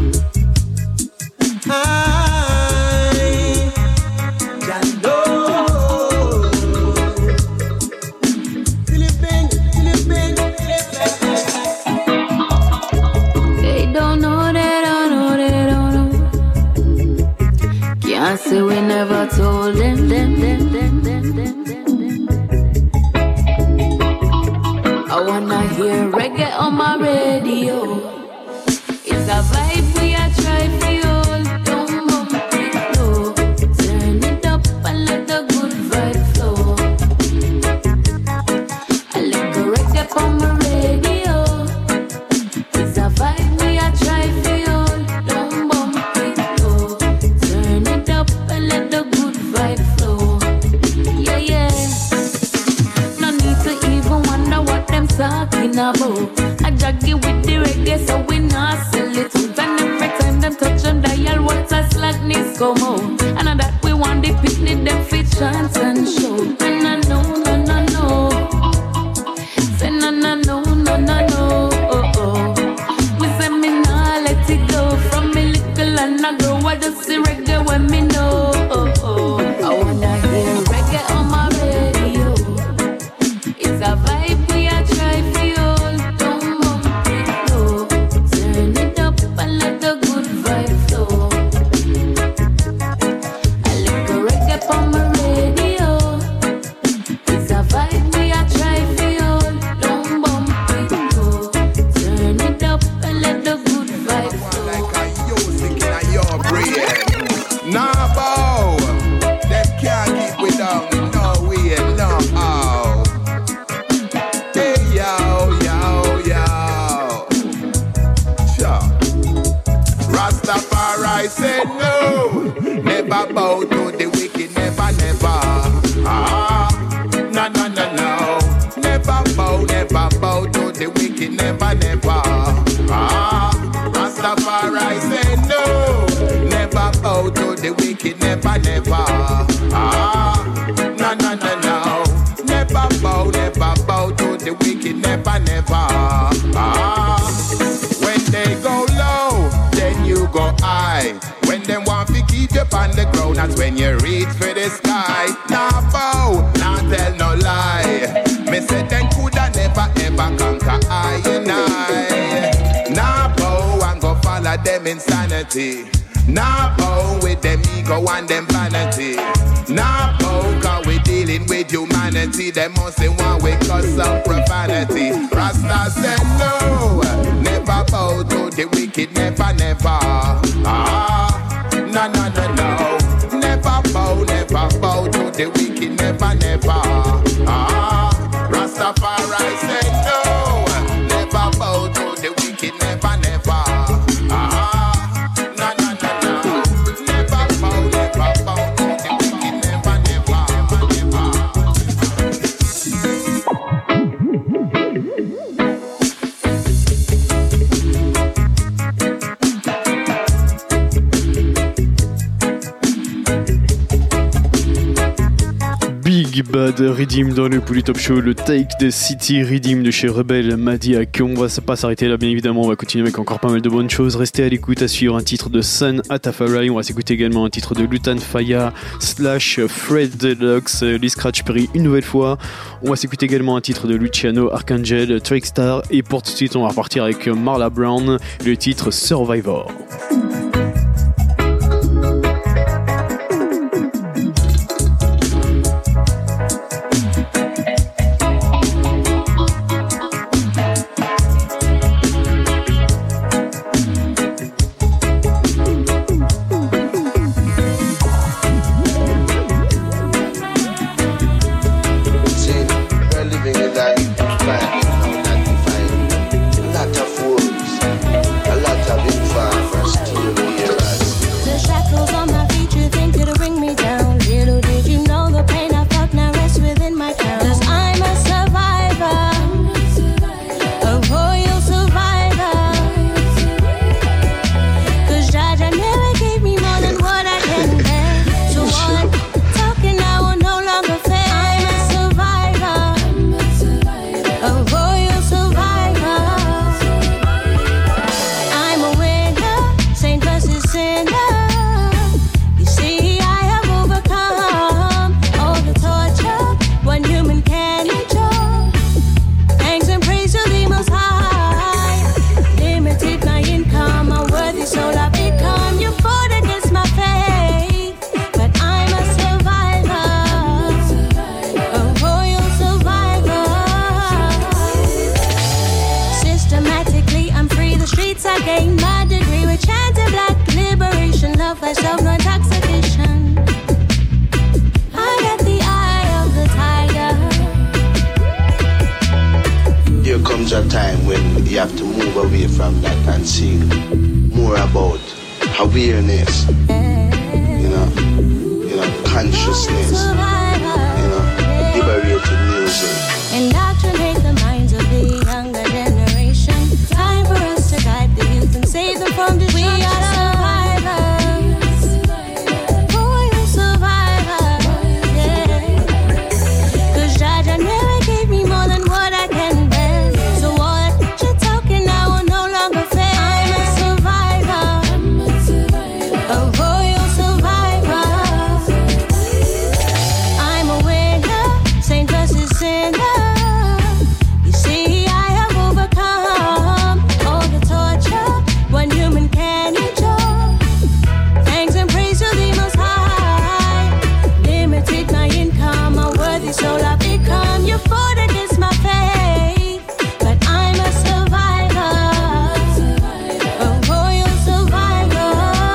I Jando Philippine, Philippine, They don't know, they don't know, they don't know. Can't say we never told them, them, them, them, them, them, them. I wanna hear reggae on my radio. It's a vibe we are try for you. Don't bump it low. Turn it up and let the good vibe flow. I like a reggae on my radio. It's a vibe we are try for you. Don't bump it low. Turn it up and let the good vibe flow. Yeah, yeah. No need to even wonder what them talking about. I jog it with the reggae so we not sell it out. And every time them touch on dial, what a slackness come out. And I that we want the picnic, them fit chance and show. And I know, no, no, no. Say no, no, no, no, no, no. Oh, oh. We say me nah let it go. From me little and I grow, I just see reggae when me know. Oh, oh. I wanna hear reggae on my radio. It's a vibe we are try for you. Don't bump it low. Turn it up and let the good vibe flow. I like a reggae on my radio. It's a vibe we are try for you. Don't bump it low. Turn it up and let the good vibe flow. Like a music in your brain. Nah, bow. Them can't keep we down. No way, no how. Hey, yo, yo, yo. Sure. Rastafari said no. Never bow to the wicked, never, never. Ah, no, no, no, no. Never bow, never bow to the wicked, never, never. Ah, Rastafari said no. Never bow to the wicked, never, never. Ah, no, no, no, no. Never bow, never bow to the wicked, never, never. Ah, when they go low, then you go high. When them want to keep you on the ground, that's when you reach for the sky. Nah bow, nah tell no lie. Me say them coulda never ever conquer I and I. Nah bow and go follow them insanity. Nah bow with them ego and them vanity. Nah bow cause we dealing with humanity. Them must say one way cause some profanity. Rasta said no. Never bow to the wicked, never, never. Ah, no, no, no, no. Never bow, never bow to the wicked, never, never. Ah, Rastafari said no. Never bow to the wicked, never, never. Ah, no, no, no, no. Never bow, never bow to the wicked, never, never, never, Big Bad Redeem dans le Polytop Show, le Take the City Redeem de chez Rebel Madiak. On va pas s'arrêter là, bien évidemment, on va continuer avec encore pas mal de bonnes choses. Restez à l'écoute, à suivre un titre de Sun Atafarai. On va s'écouter également un titre de Lutan Fyah slash Fred Deluxe, Lee Scratch Perry une nouvelle fois. On va s'écouter également un titre de Luciano Arcangel, Trickstar. Et pour tout de suite, on va repartir avec Marla Brown, le titre Survivor. Still awareness, you know, you know, consciousness, you know, liberated music. Indoctrinate the minds of the younger generation. Time for us to guide the youth and save them from destruction. We are survivors. Royal survivors. Yeah. Cause Jaja never gave me more than what I can bear. So all that you're talking I will no longer fair. I'm a survivor. A royal survivor. I'm a winner. Saint versus sinner. So I become your food against my faith. But I'm a survivor, a royal survivor.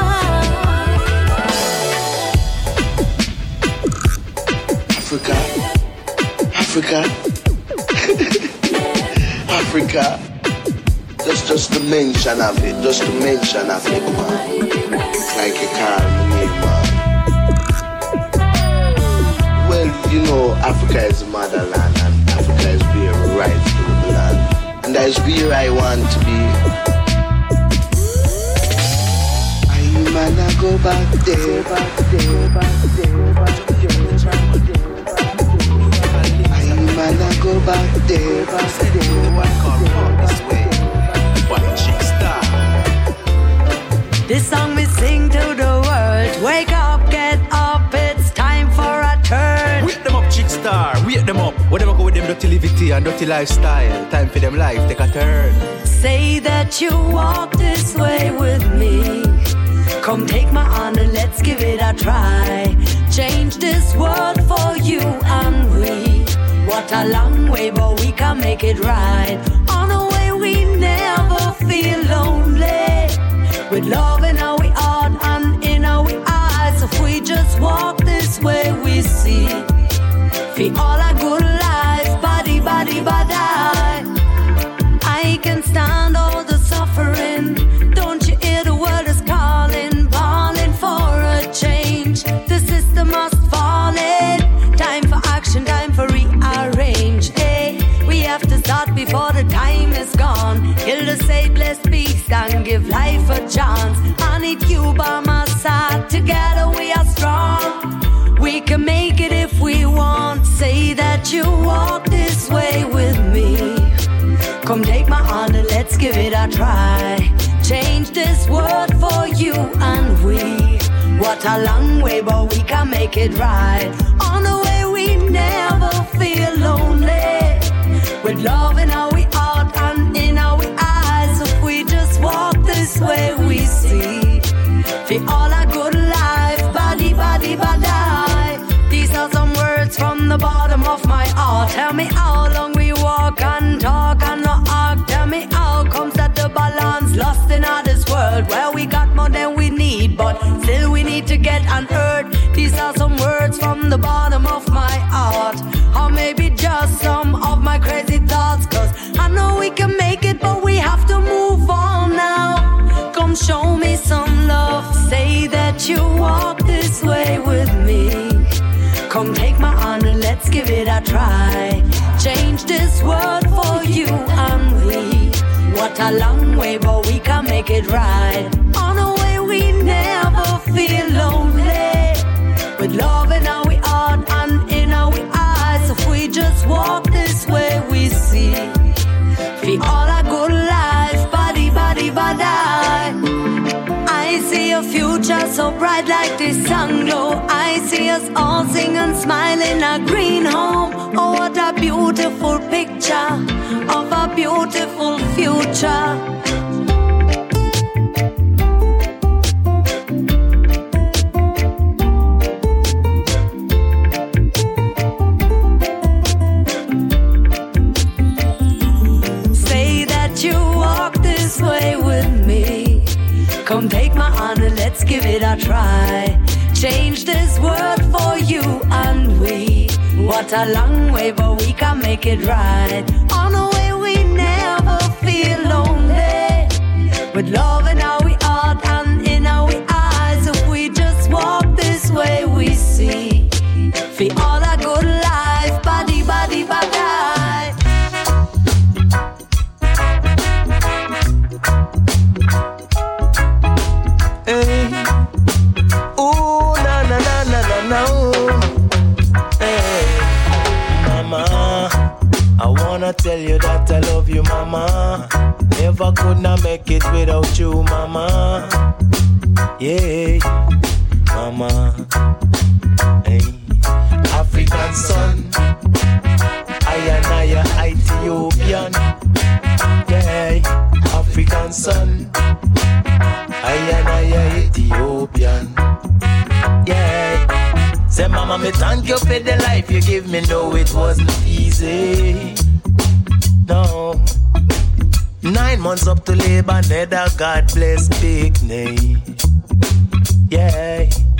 Africa, Africa, Africa. Just, just the mention of it, just the mention of it, man. Like you call me, man. Well, you know, Africa is the motherland, and Africa is very rightful land, and that is where I want to be. I wanna go back there, back there, back there, back there. I wanna go back there, back there, back there. This song we sing to the world. Wake up, get up, it's time for a turn. Wake them up, Chick Star, wake them up. Whatever go with them dirty livity and dirty lifestyle. Time for them life, take a turn. Say that you walk this way with me. Come take my hand and let's give it a try. Change this world for you and we. What a long way, but we can make it right. On the way we never feel lonely. With love in our heart and in our eyes. If we just walk this way we see. Feel all a good life, body, body, body. I can stand all the suffering. Don't you hear the world is calling, calling for a change. The system must fall in. Time for action, time for rearrange. Hey, we have to start before the time is gone. Kill the say bless peace and give life a chance. I need you by my side. Together we are strong. We can make it if we want. Say that you walk this way with me. Come take my hand and let's give it a try. Change this world for you and we. What a long way, but we can make it right. On the way we never feel lonely. With love in our heart and in our eyes. If we just walk this way we see. Feel all a good life, body, body, body. These are some words from the bottom of my heart. Tell me how long we walk and talk and not arc. Tell me how comes that the balance lost in all this world. Well, we got more than we need, but still we need to get unheard. These are some words from the bottom of my heart. Or maybe just some of my crazy thoughts. Cause I know we can make it, but we have to move on now. Come show me some love. Say that you walk this way with me. Come take my hand and let's give it a try. Change this world for you and we. What a long way, but we can make it right. On the way we never feel lonely. With love in our heart and in our eyes. If we just walk this way we see. Feel all a good life, body, body, body. I see a future so bright like the sun glow. I see us all sing and smile in a green home. Oh, what a beautiful picture of a beautiful future. Come take my hand and let's give it a try. Change this world for you and we. What a long way, but we can make it right. On the way we never feel lonely. With love in our heart and in our for all a good life. Body, body, body. Hey. Ooh, na na na na na na. Hey. Mama, I wanna tell you that I love you, mama. Never could not make it without you, mama. Yeah, mama. Hey. African son, I and I Ethiopian. Yeah, African son, I and I Ethiopian. Yeah. Say, mama, me thank you for the life you give me. No, it wasn't easy. No. Nine months up to labor, nether, God bless big name. Yeah.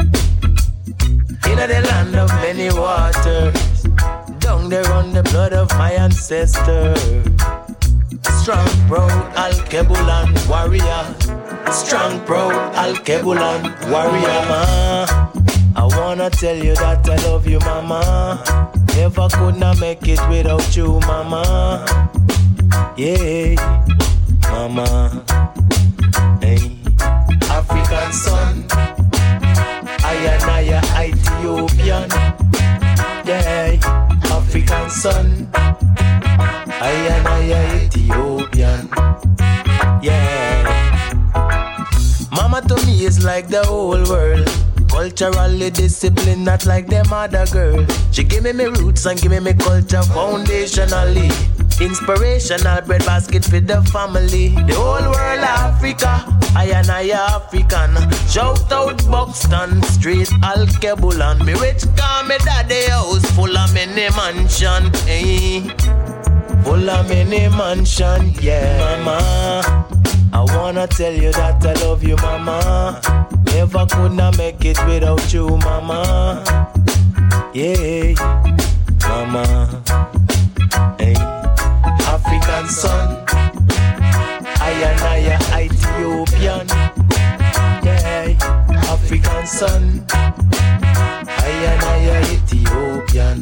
In the land of many waters, down there on the blood of my ancestors. Strong, proud, Al-Kebulan warrior. Strong, proud, Al-Kebulan warrior. Mama, I wanna tell you that I love you, mama. Never could not make it without you, mama. Yeah, mama. Hey, African son, I and I Ethiopian. Yeah, African son, I and I Ethiopian. Yeah, mama to me is like the whole world. Culturally disciplined, not like them other girl. She give me me roots and give me me culture foundationally. Inspirational bread basket for the family. The whole world Africa, I and I African. Shout out Buxton Street, Al-Kebulan. Me rich call me daddy house full of many mansion. Hey, full of many mansion, yeah. Mama, I wanna tell you that I love you, mama. Never could not make it without you, mama. Yeah, mama. Hey, African son, I and I Ethiopian. Yeah, African son, I and I Ethiopian.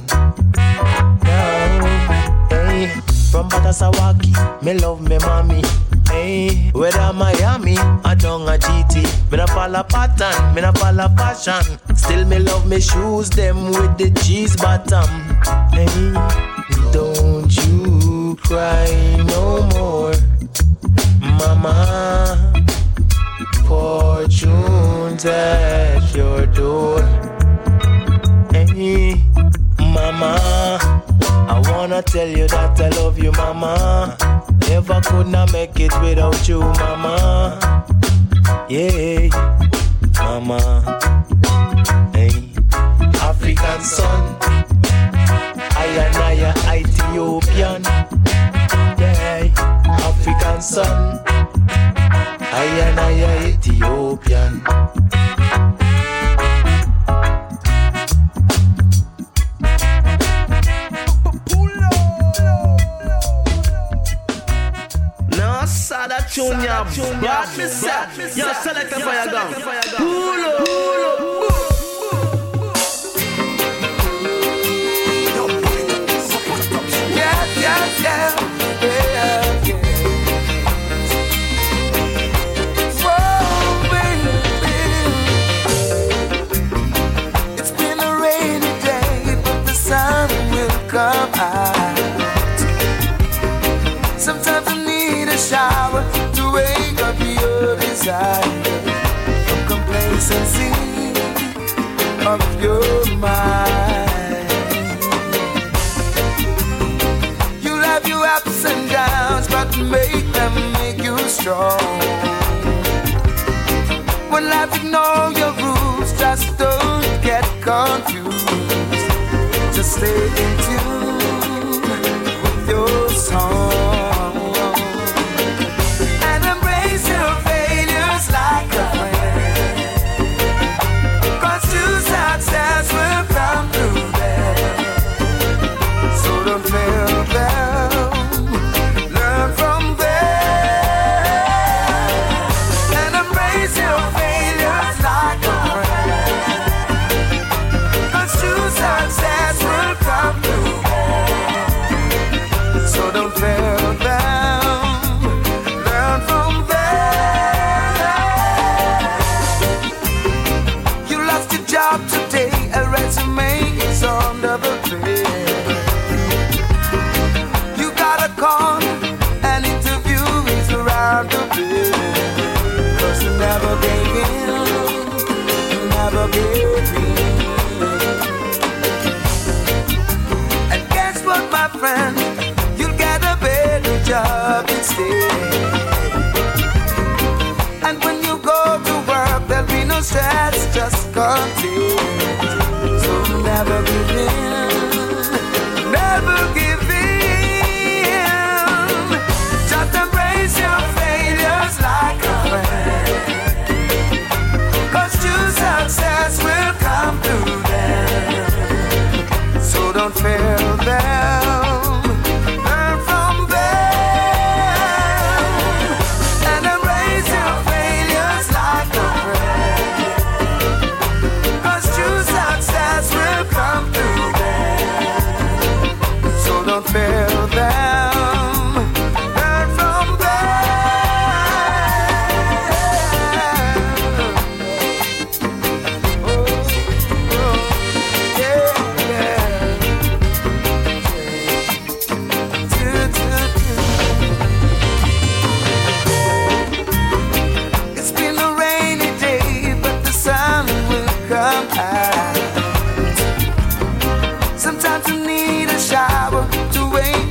Now, hey, from Batasawaki, me love me mommy. Hey, whether Miami or down a G T, me na follow pattern, me na follow fashion. Still me love me shoes, them with the cheese bottom. Hey, don't you cry no more, mama. Fortune's at your door. Hey, mama, I wanna tell you that I love you, mama. Never could not make it without you, mama. Yeah, mama. Hey, African son, I and I Ethiopian. Yeah, African son, I and I Ethiopian. That tune ya bad me set. Yo, select a fire gun. Pull up, pull up. Yeah, yeah, yeah, yeah, yeah. Whoa, baby. It's been a rainy day, but the sun will come out. Sometimes I need a shower to wake up your desire from complacency of your mind. You'll have your ups and downs, but make them make you strong. When life ignores your rules, just don't get confused. Just stay in tune with your song. Sunset. content. So never give in, never give in. Just embrace your failures like a friend, 'cause true success will come through them. So don't fail them. Fail them, learn from them. Oh, oh, yeah, yeah. Do, do, do. It's been a rainy day, but the sun will come out. Sometimes you need a shower to wake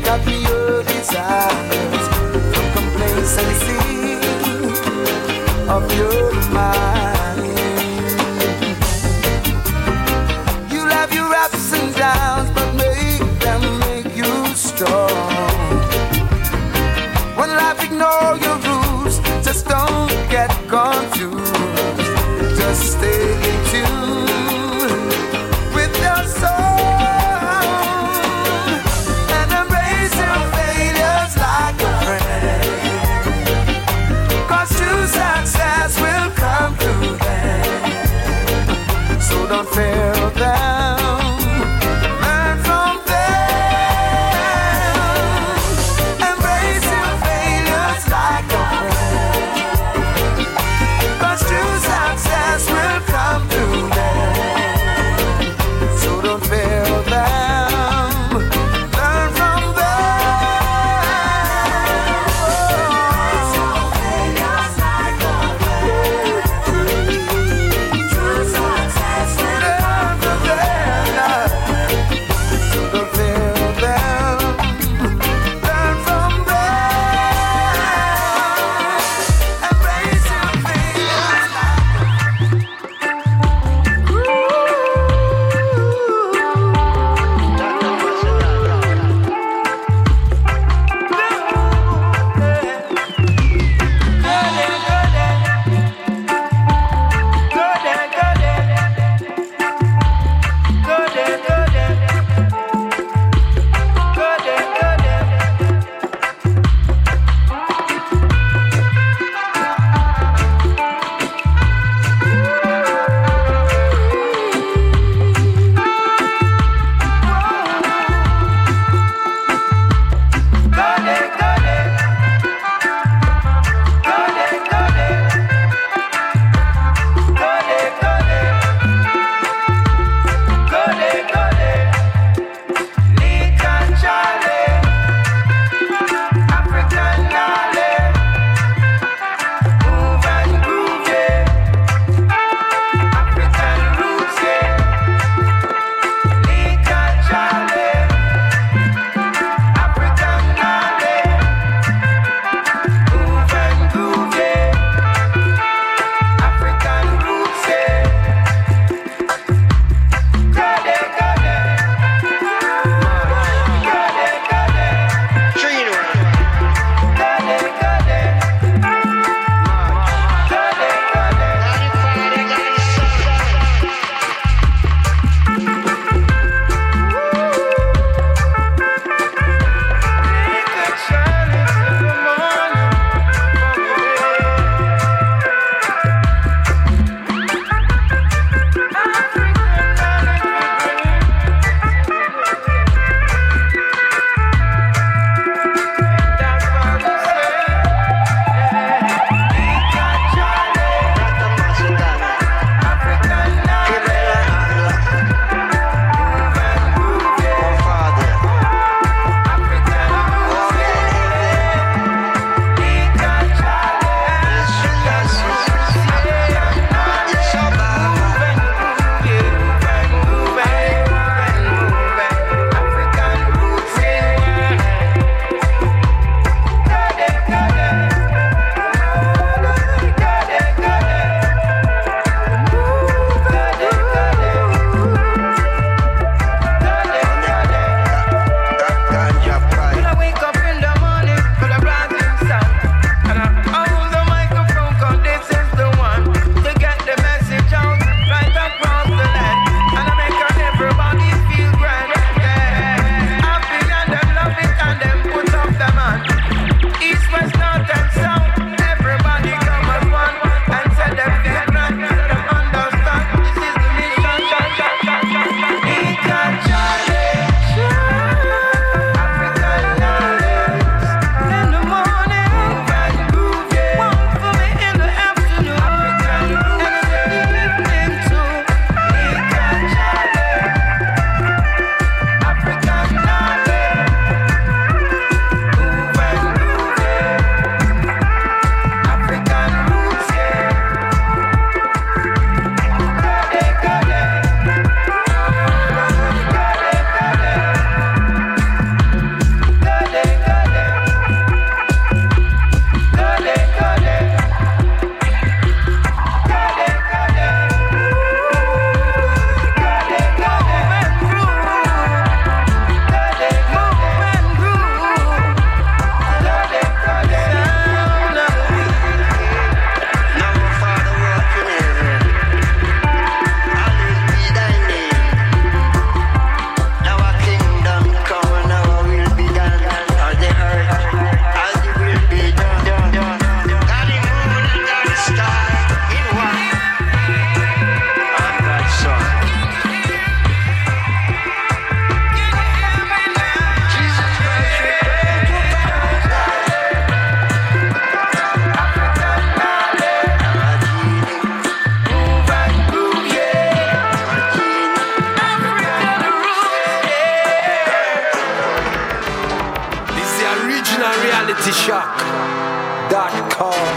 city shock dot com.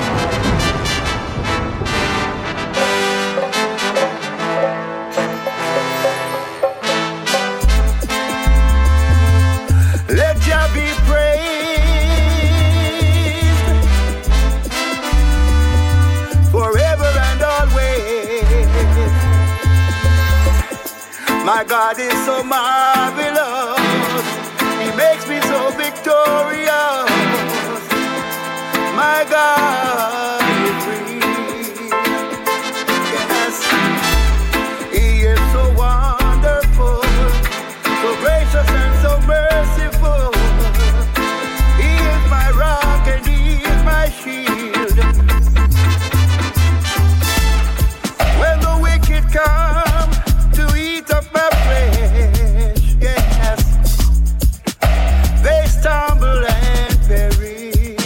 Let Jah be praised forever and always. My God is so marvelous. He makes me so victorious. My God is real. Yes, He is so wonderful, so gracious and so merciful. He is my rock and He is my shield. When the wicked come to eat up my flesh, yes, they stumble and perish.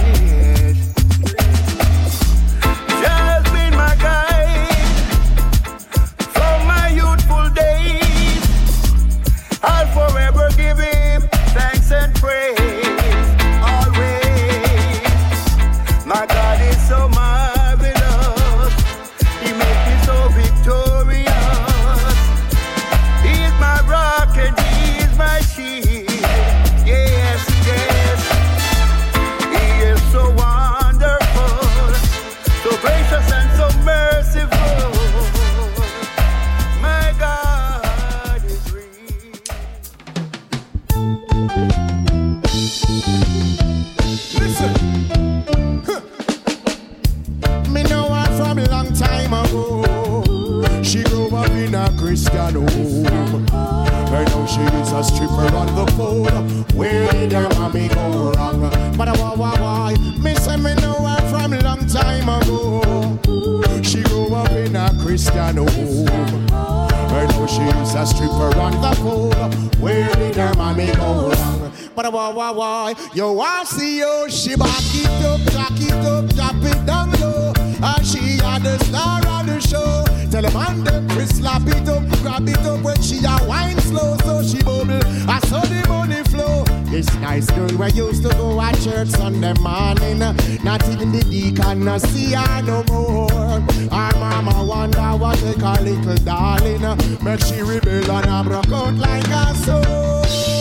Jah has been my guide from my youthful days. I'll forever give Him thanks and praise, always. My God is so marvelous. He makes me so victorious. He is my rock and He is my shield. Yes, yes. He is so wonderful, so gracious and so merciful. My God is real. Listen. Huh. Me know her from a long time ago. She grew up in a Christian home. Right now she is a stripper on the pole. Where did her mommy go wrong? But why, why, why? Me say me know her from a long time ago. She grew up in a Christian home. Right now she is a stripper on the pole. Where did her mommy go wrong? But why, why, why? Yo, I see you. She back it up, jack it up, drop it down low. And she had the star of the show. Tell them on them, Chris slap it up, grab it up when she a wine slow, so she bubble. I saw the money flow. This nice girl we used to go at church Sunday morning. Not even the deacon no see her no more. Her mama wonder what they call little darling. But she rebel and I broke out like a sword.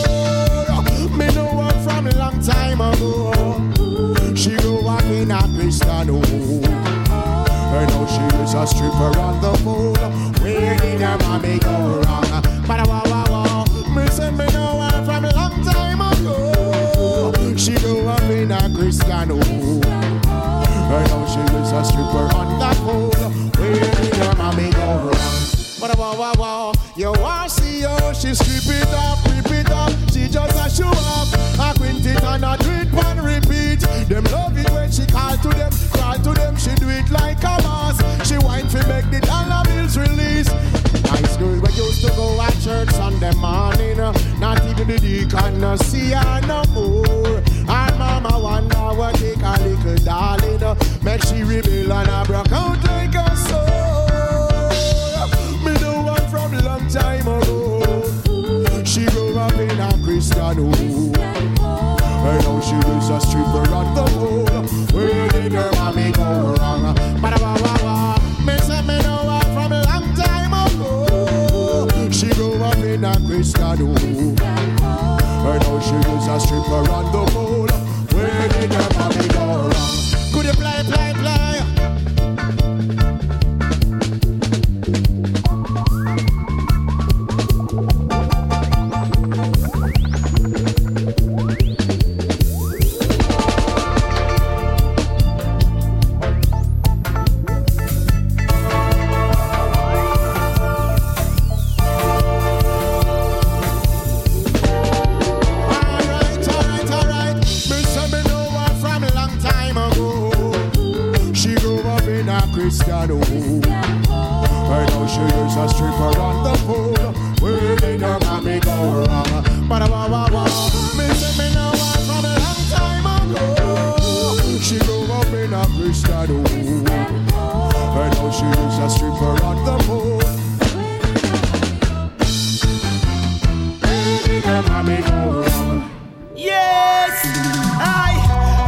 Me know her from a long time ago. She grew up in a Christian home. Right now she is a stripper on the pole. Where did her mommy go wrong? But wow, wow, wow. Me say me know her from a long time ago. She grew up in a Christian home. Right now she is a stripper on the pole. Where did her mommy go wrong? But wow, wow, wow. You want to see her? She strip it up, rip it up. She just a show up. I quint it and I do it and repeat. Them love it when she call to them, call to them. She do it like a boss. She whine for make the dollar bills release. Nice girl we used to go at church Sunday morning. Not even the deacon no see her no more. Her mama wonder what take a little darling. Make she rebel and I broke out like a sword. Me know one from a long time ago. She grew up in a Christian home. Right now she is a stripper on the pole. Where did her mommy go wrong? But wah, wah, wah. Me say me know her from a long time ago. She grew up in a Christian home. Right now she is a stripper on the pole. Where did her mommy go wrong? Could you play, play, play? Christian home. Right now she is a stripper on the pole. Where did her mommy go wrong? But wah wah wah. Me say me know her from a long time ago. She grew up in a Christian home. Right now she is a stripper on the pole. Where did her mommy go wrong? Yes, I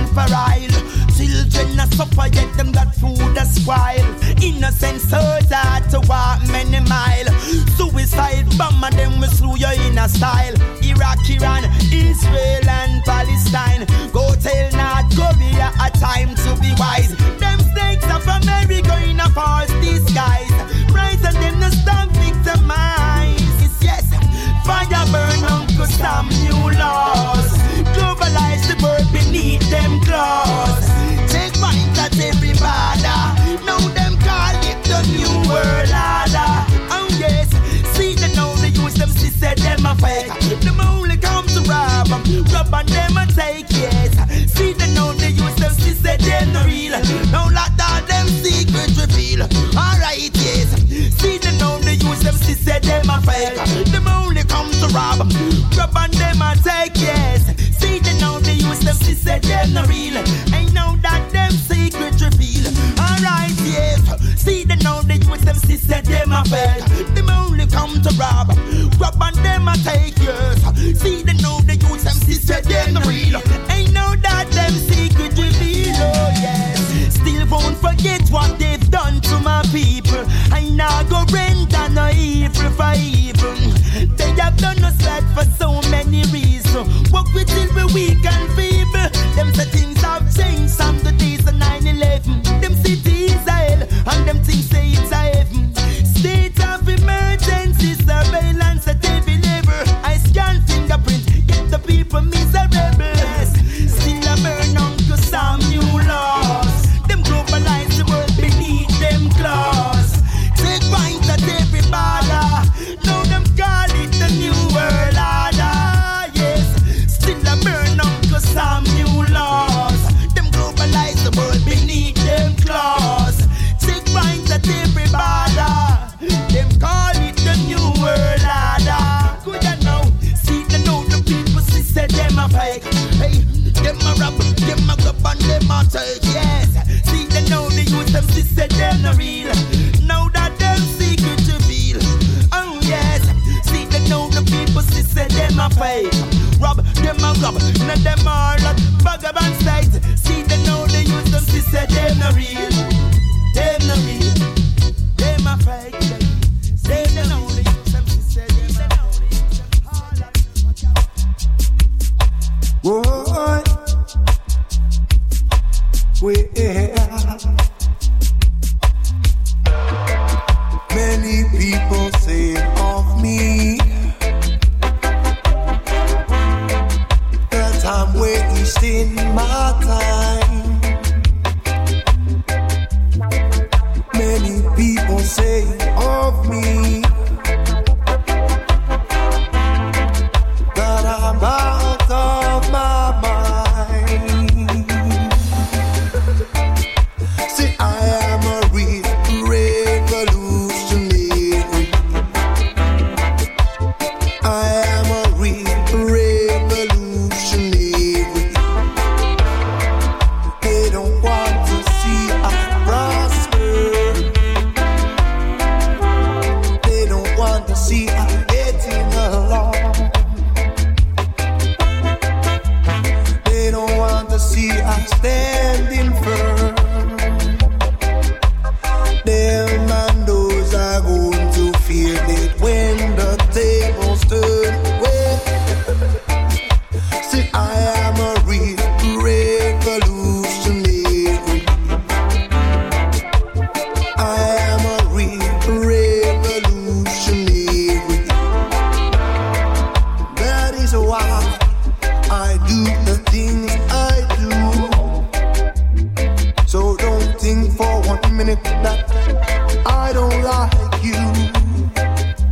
for oil. Children a suffer yet them got food a spoil. Innocent souls are to walk many mile. Suicide bomb and them will slew you in a style. Iraq, Iran, Israel and Palestine. Go tell North Korea a time to be wise. Them snakes of America in a false disguise. Rise and them no stop victimize. Yes, fire burn Uncle Sam new laws. Globalize the world beneath them claws. Take right at every border. Now them call it the new world order. Oh yes, see them now they use them, she said them a fake. Them only come to rob them, rob and them a take, yes. See them now they use them, she said them no real. Now let all them secret reveal. Alright, yes. See them now they use them, she said them a fake. Them only come to rob them, rob and them a take, yes. See them now they use them, she said them no real. Ain't know that them secret reveal. Alright, yes. See them now they use them, she said them a fake. Them only come to rob, rob and them a take, yes. See them now they use them, she said them no real. Ain't know that them secret reveal. Oh yes. Still won't forget what they've done to my people. I now go rent and no evil for evil. They have done us bad for so many reasons. Walk with till we weak and feeble. Them say things have changed from the days of nine eleven. Them cities are hell and them things say it's a heaven. State of emergency surveillance at every level. I scan fingerprint, get the people miserable. Still a burn Uncle Sam new laws. Them globalize the world beneath them claws. Take point at every border. Now them call it the new world order. Yes, still a burn Uncle Sam new laws. Them globalize the world beneath them claws. Take point at every border. Them call it the new world order. Could you know? See the know the people see say them a fake. Hey, them a rob, them a grab and them a take. Yes, see the know they use them see say them no real. Now that them secret reveal. Oh yes, see the know the people see say them a fake. Rob, them a grab, now them all at vagabond state. See the know they use them see say them no real. Them no real, them a fake. Say the know they use them see say them no real. Boy, we many people say of me that I'm wasting my time. Many people say of me that I'm out of my mind. See, I am a real revolutionary. I am a real revolutionary. They don't want to see us prosper. They don't want to see us getting along. They don't want to see us standing firm. Them and those are going to feel it when the tables turn. Well, see, I am a real revolutionary. I am a real revolutionary. That is why I do the things I do. So don't think for one minute that I don't like you.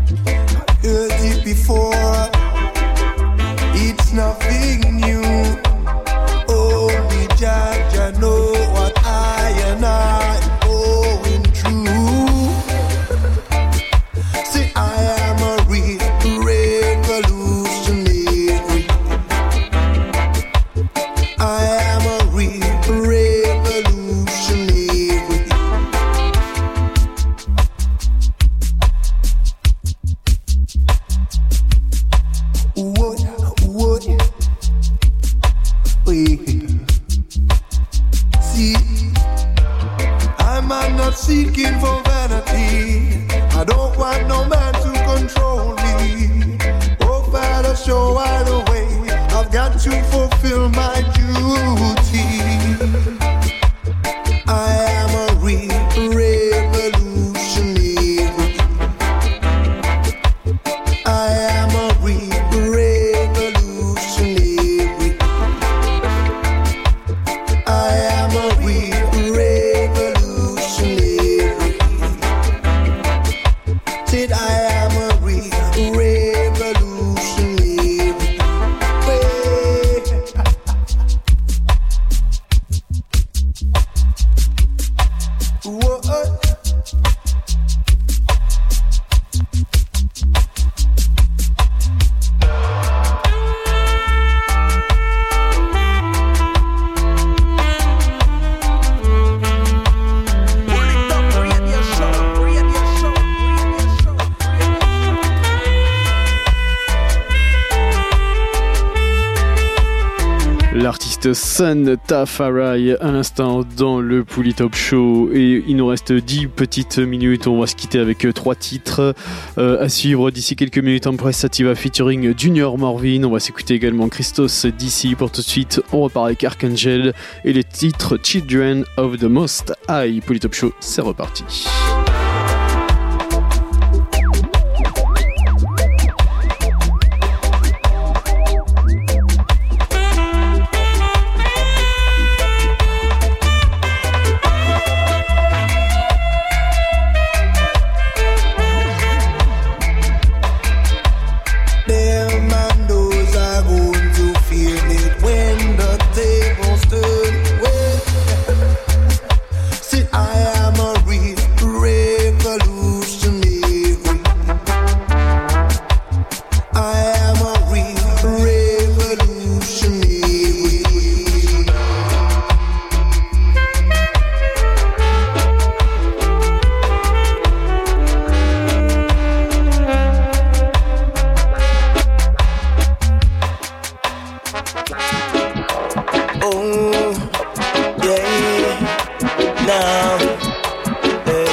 me. I don't want no man to control me. Oh, Father, show I the way. I've got to fulfill my duty. I am a real revolutionary. I am a real revolutionary. I am a real revolutionary. Said I am a real revolutionary. Wait. What? L'artiste Sun Tafari à l'instant dans le Pouli Top Show, et il nous reste dix petites minutes. On va se quitter avec trois titres euh, à suivre d'ici quelques minutes. Empress Sativa featuring Junior Morvin. On va s'écouter également Christos d'ici. Pour tout de suite, on repart avec Archangel et les titres Children of the Most High. Pouli Top Show, c'est reparti. Them and those are going to feel it when the tables turn. Well, see, I am a real revolutionary. I am a real revolutionary. Oh, yeah, now, hey.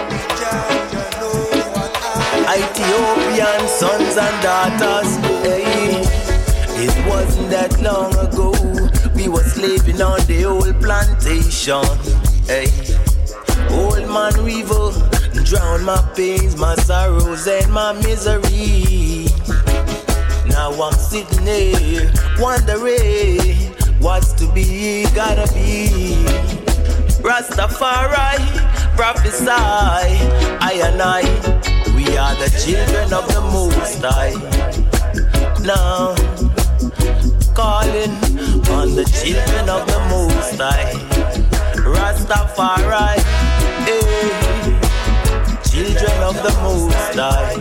Ethiopian sons and daughters, hey. It wasn't that long ago, we were slaving on the old plantation, hey. Old man River, drown my pains, my sorrows and my misery. Now I'm sitting here, wondering what's to be, gotta be. Rastafari, prophesy, I and I, we are the children of the Most High. Now, calling on the children of the Most High. Rastafari, hey, children of the Most High.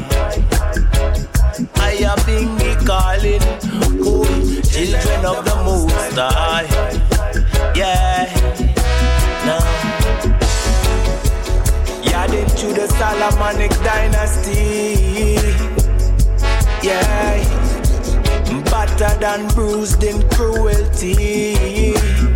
I am being calling, oh, children of the Most High. Yeah, now, yarding through the Solomonic dynasty. Yeah, battered and bruised in cruelty.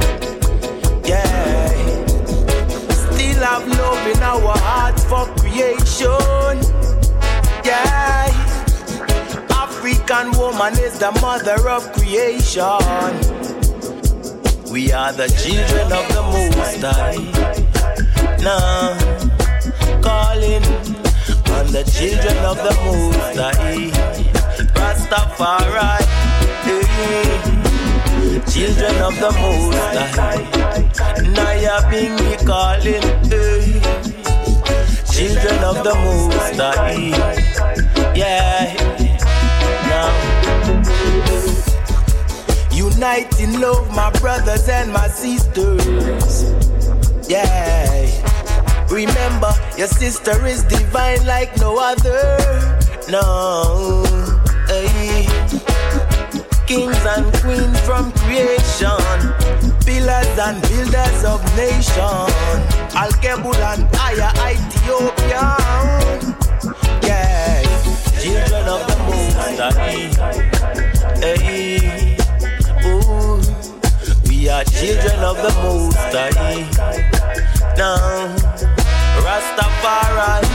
Yeah, still have love in our hearts for creation. Yeah, African woman is the mother of creation. We are the children of the Most High. Now, calling on the children of the Most High. Rastafari, hey, children of the Most High. Naya Bingi calling, hey, children of the Most High. Yeah, now, unite in love, my brothers and my sisters. Yeah, remember your sister is divine like no other. No, hey. Kings and queens from creation, pillars and builders of nation. Al-Kebul and Aya, Ethiopia. Yeah, children of the Most High. Hey, ooh, we are children of the Most High. Now, Rastafari,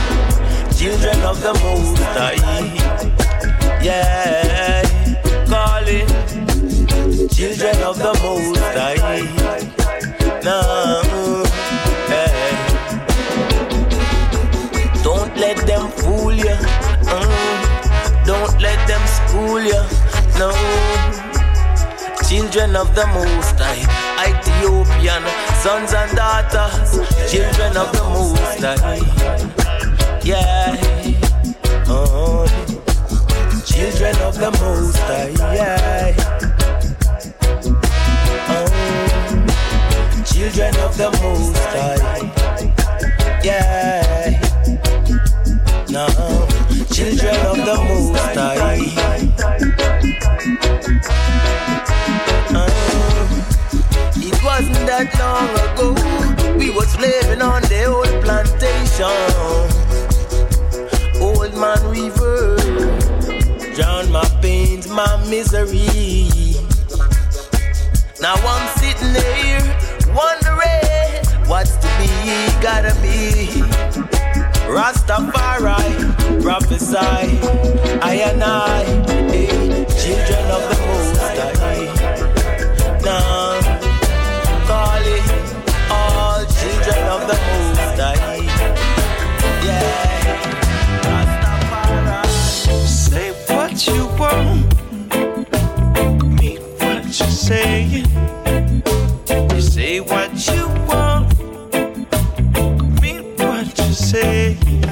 children of the Most High. Yeah, calling children of the Most High. No, yeah. Don't let them fool you. Mm. Don't let them school you. No, children of the Most High, Ethiopian sons and daughters, children of the Most High. Yeah, oh, children of the Most High. Yeah, oh, children of the Most High. Yeah, no, children of the Most High. It wasn't that long ago we was living on the old plantation. Old man river drown my pains, my misery. Now I'm sitting here wondering what's to be, gotta be. Rastafari prophesy, I and I, hey, children of the Most High. Now calling all children of the Most High. Yeah, Rastafari. Say what you want, mean what you're saying. You say what you want, mean what you're saying.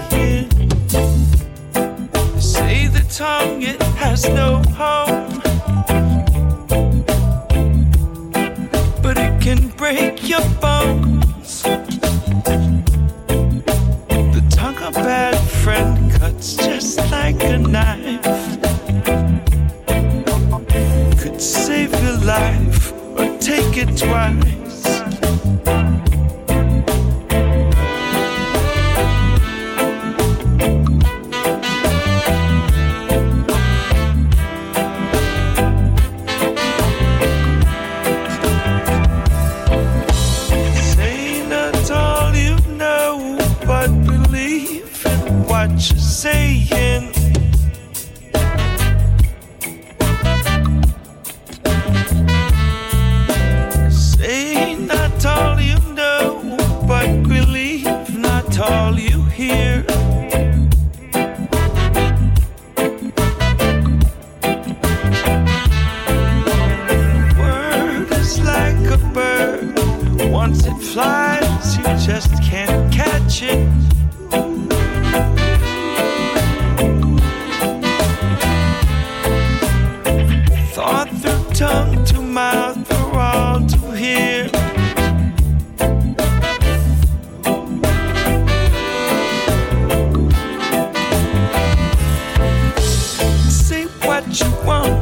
You say the tongue, it has no home, but it can break your bones. The tongue, a bad friend, cuts just like a knife. Could save your life or take it twice. You're saying say not all you know, but believe not all you hear. Word is like a bird, once it flies you just can't catch it. Tongue to mouth for all to hear. Say what you want,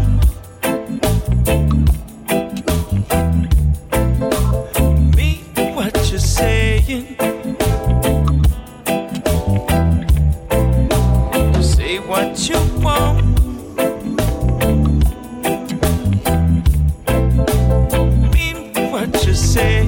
mean what you're saying. Say what you want, saying.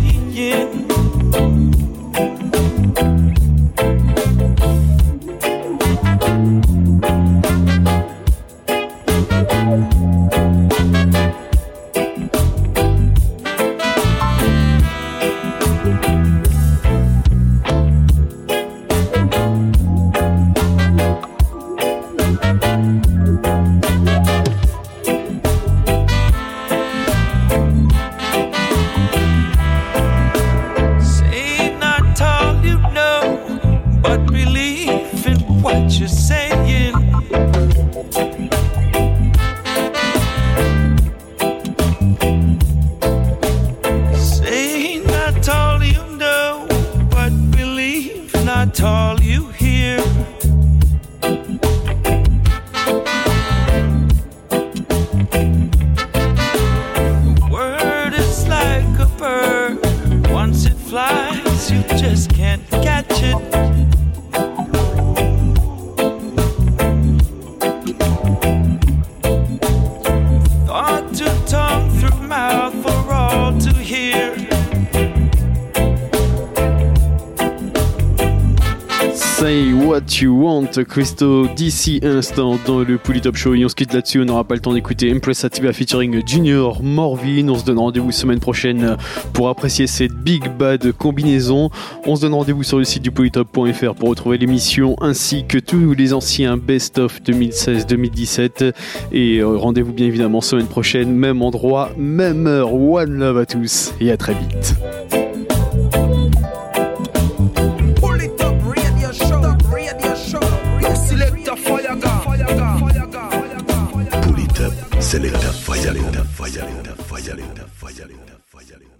What You Want, Christo d'ici instant dans le Pull It Up Show. Et on se quitte là-dessus, on n'aura pas le temps d'écouter Empress Atiba featuring Junior Morvin. On se donne rendez-vous semaine prochaine pour apprécier cette Big Bad combinaison. On se donne rendez-vous sur le site du pull it up point f r pour retrouver l'émission ainsi que tous les anciens best-of deux mille seize deux mille dix-sept. Et rendez-vous bien évidemment semaine prochaine, même endroit, même heure. One love à tous et à très vite. Selecta fire, fire, fire, fire, fire, fire, fire.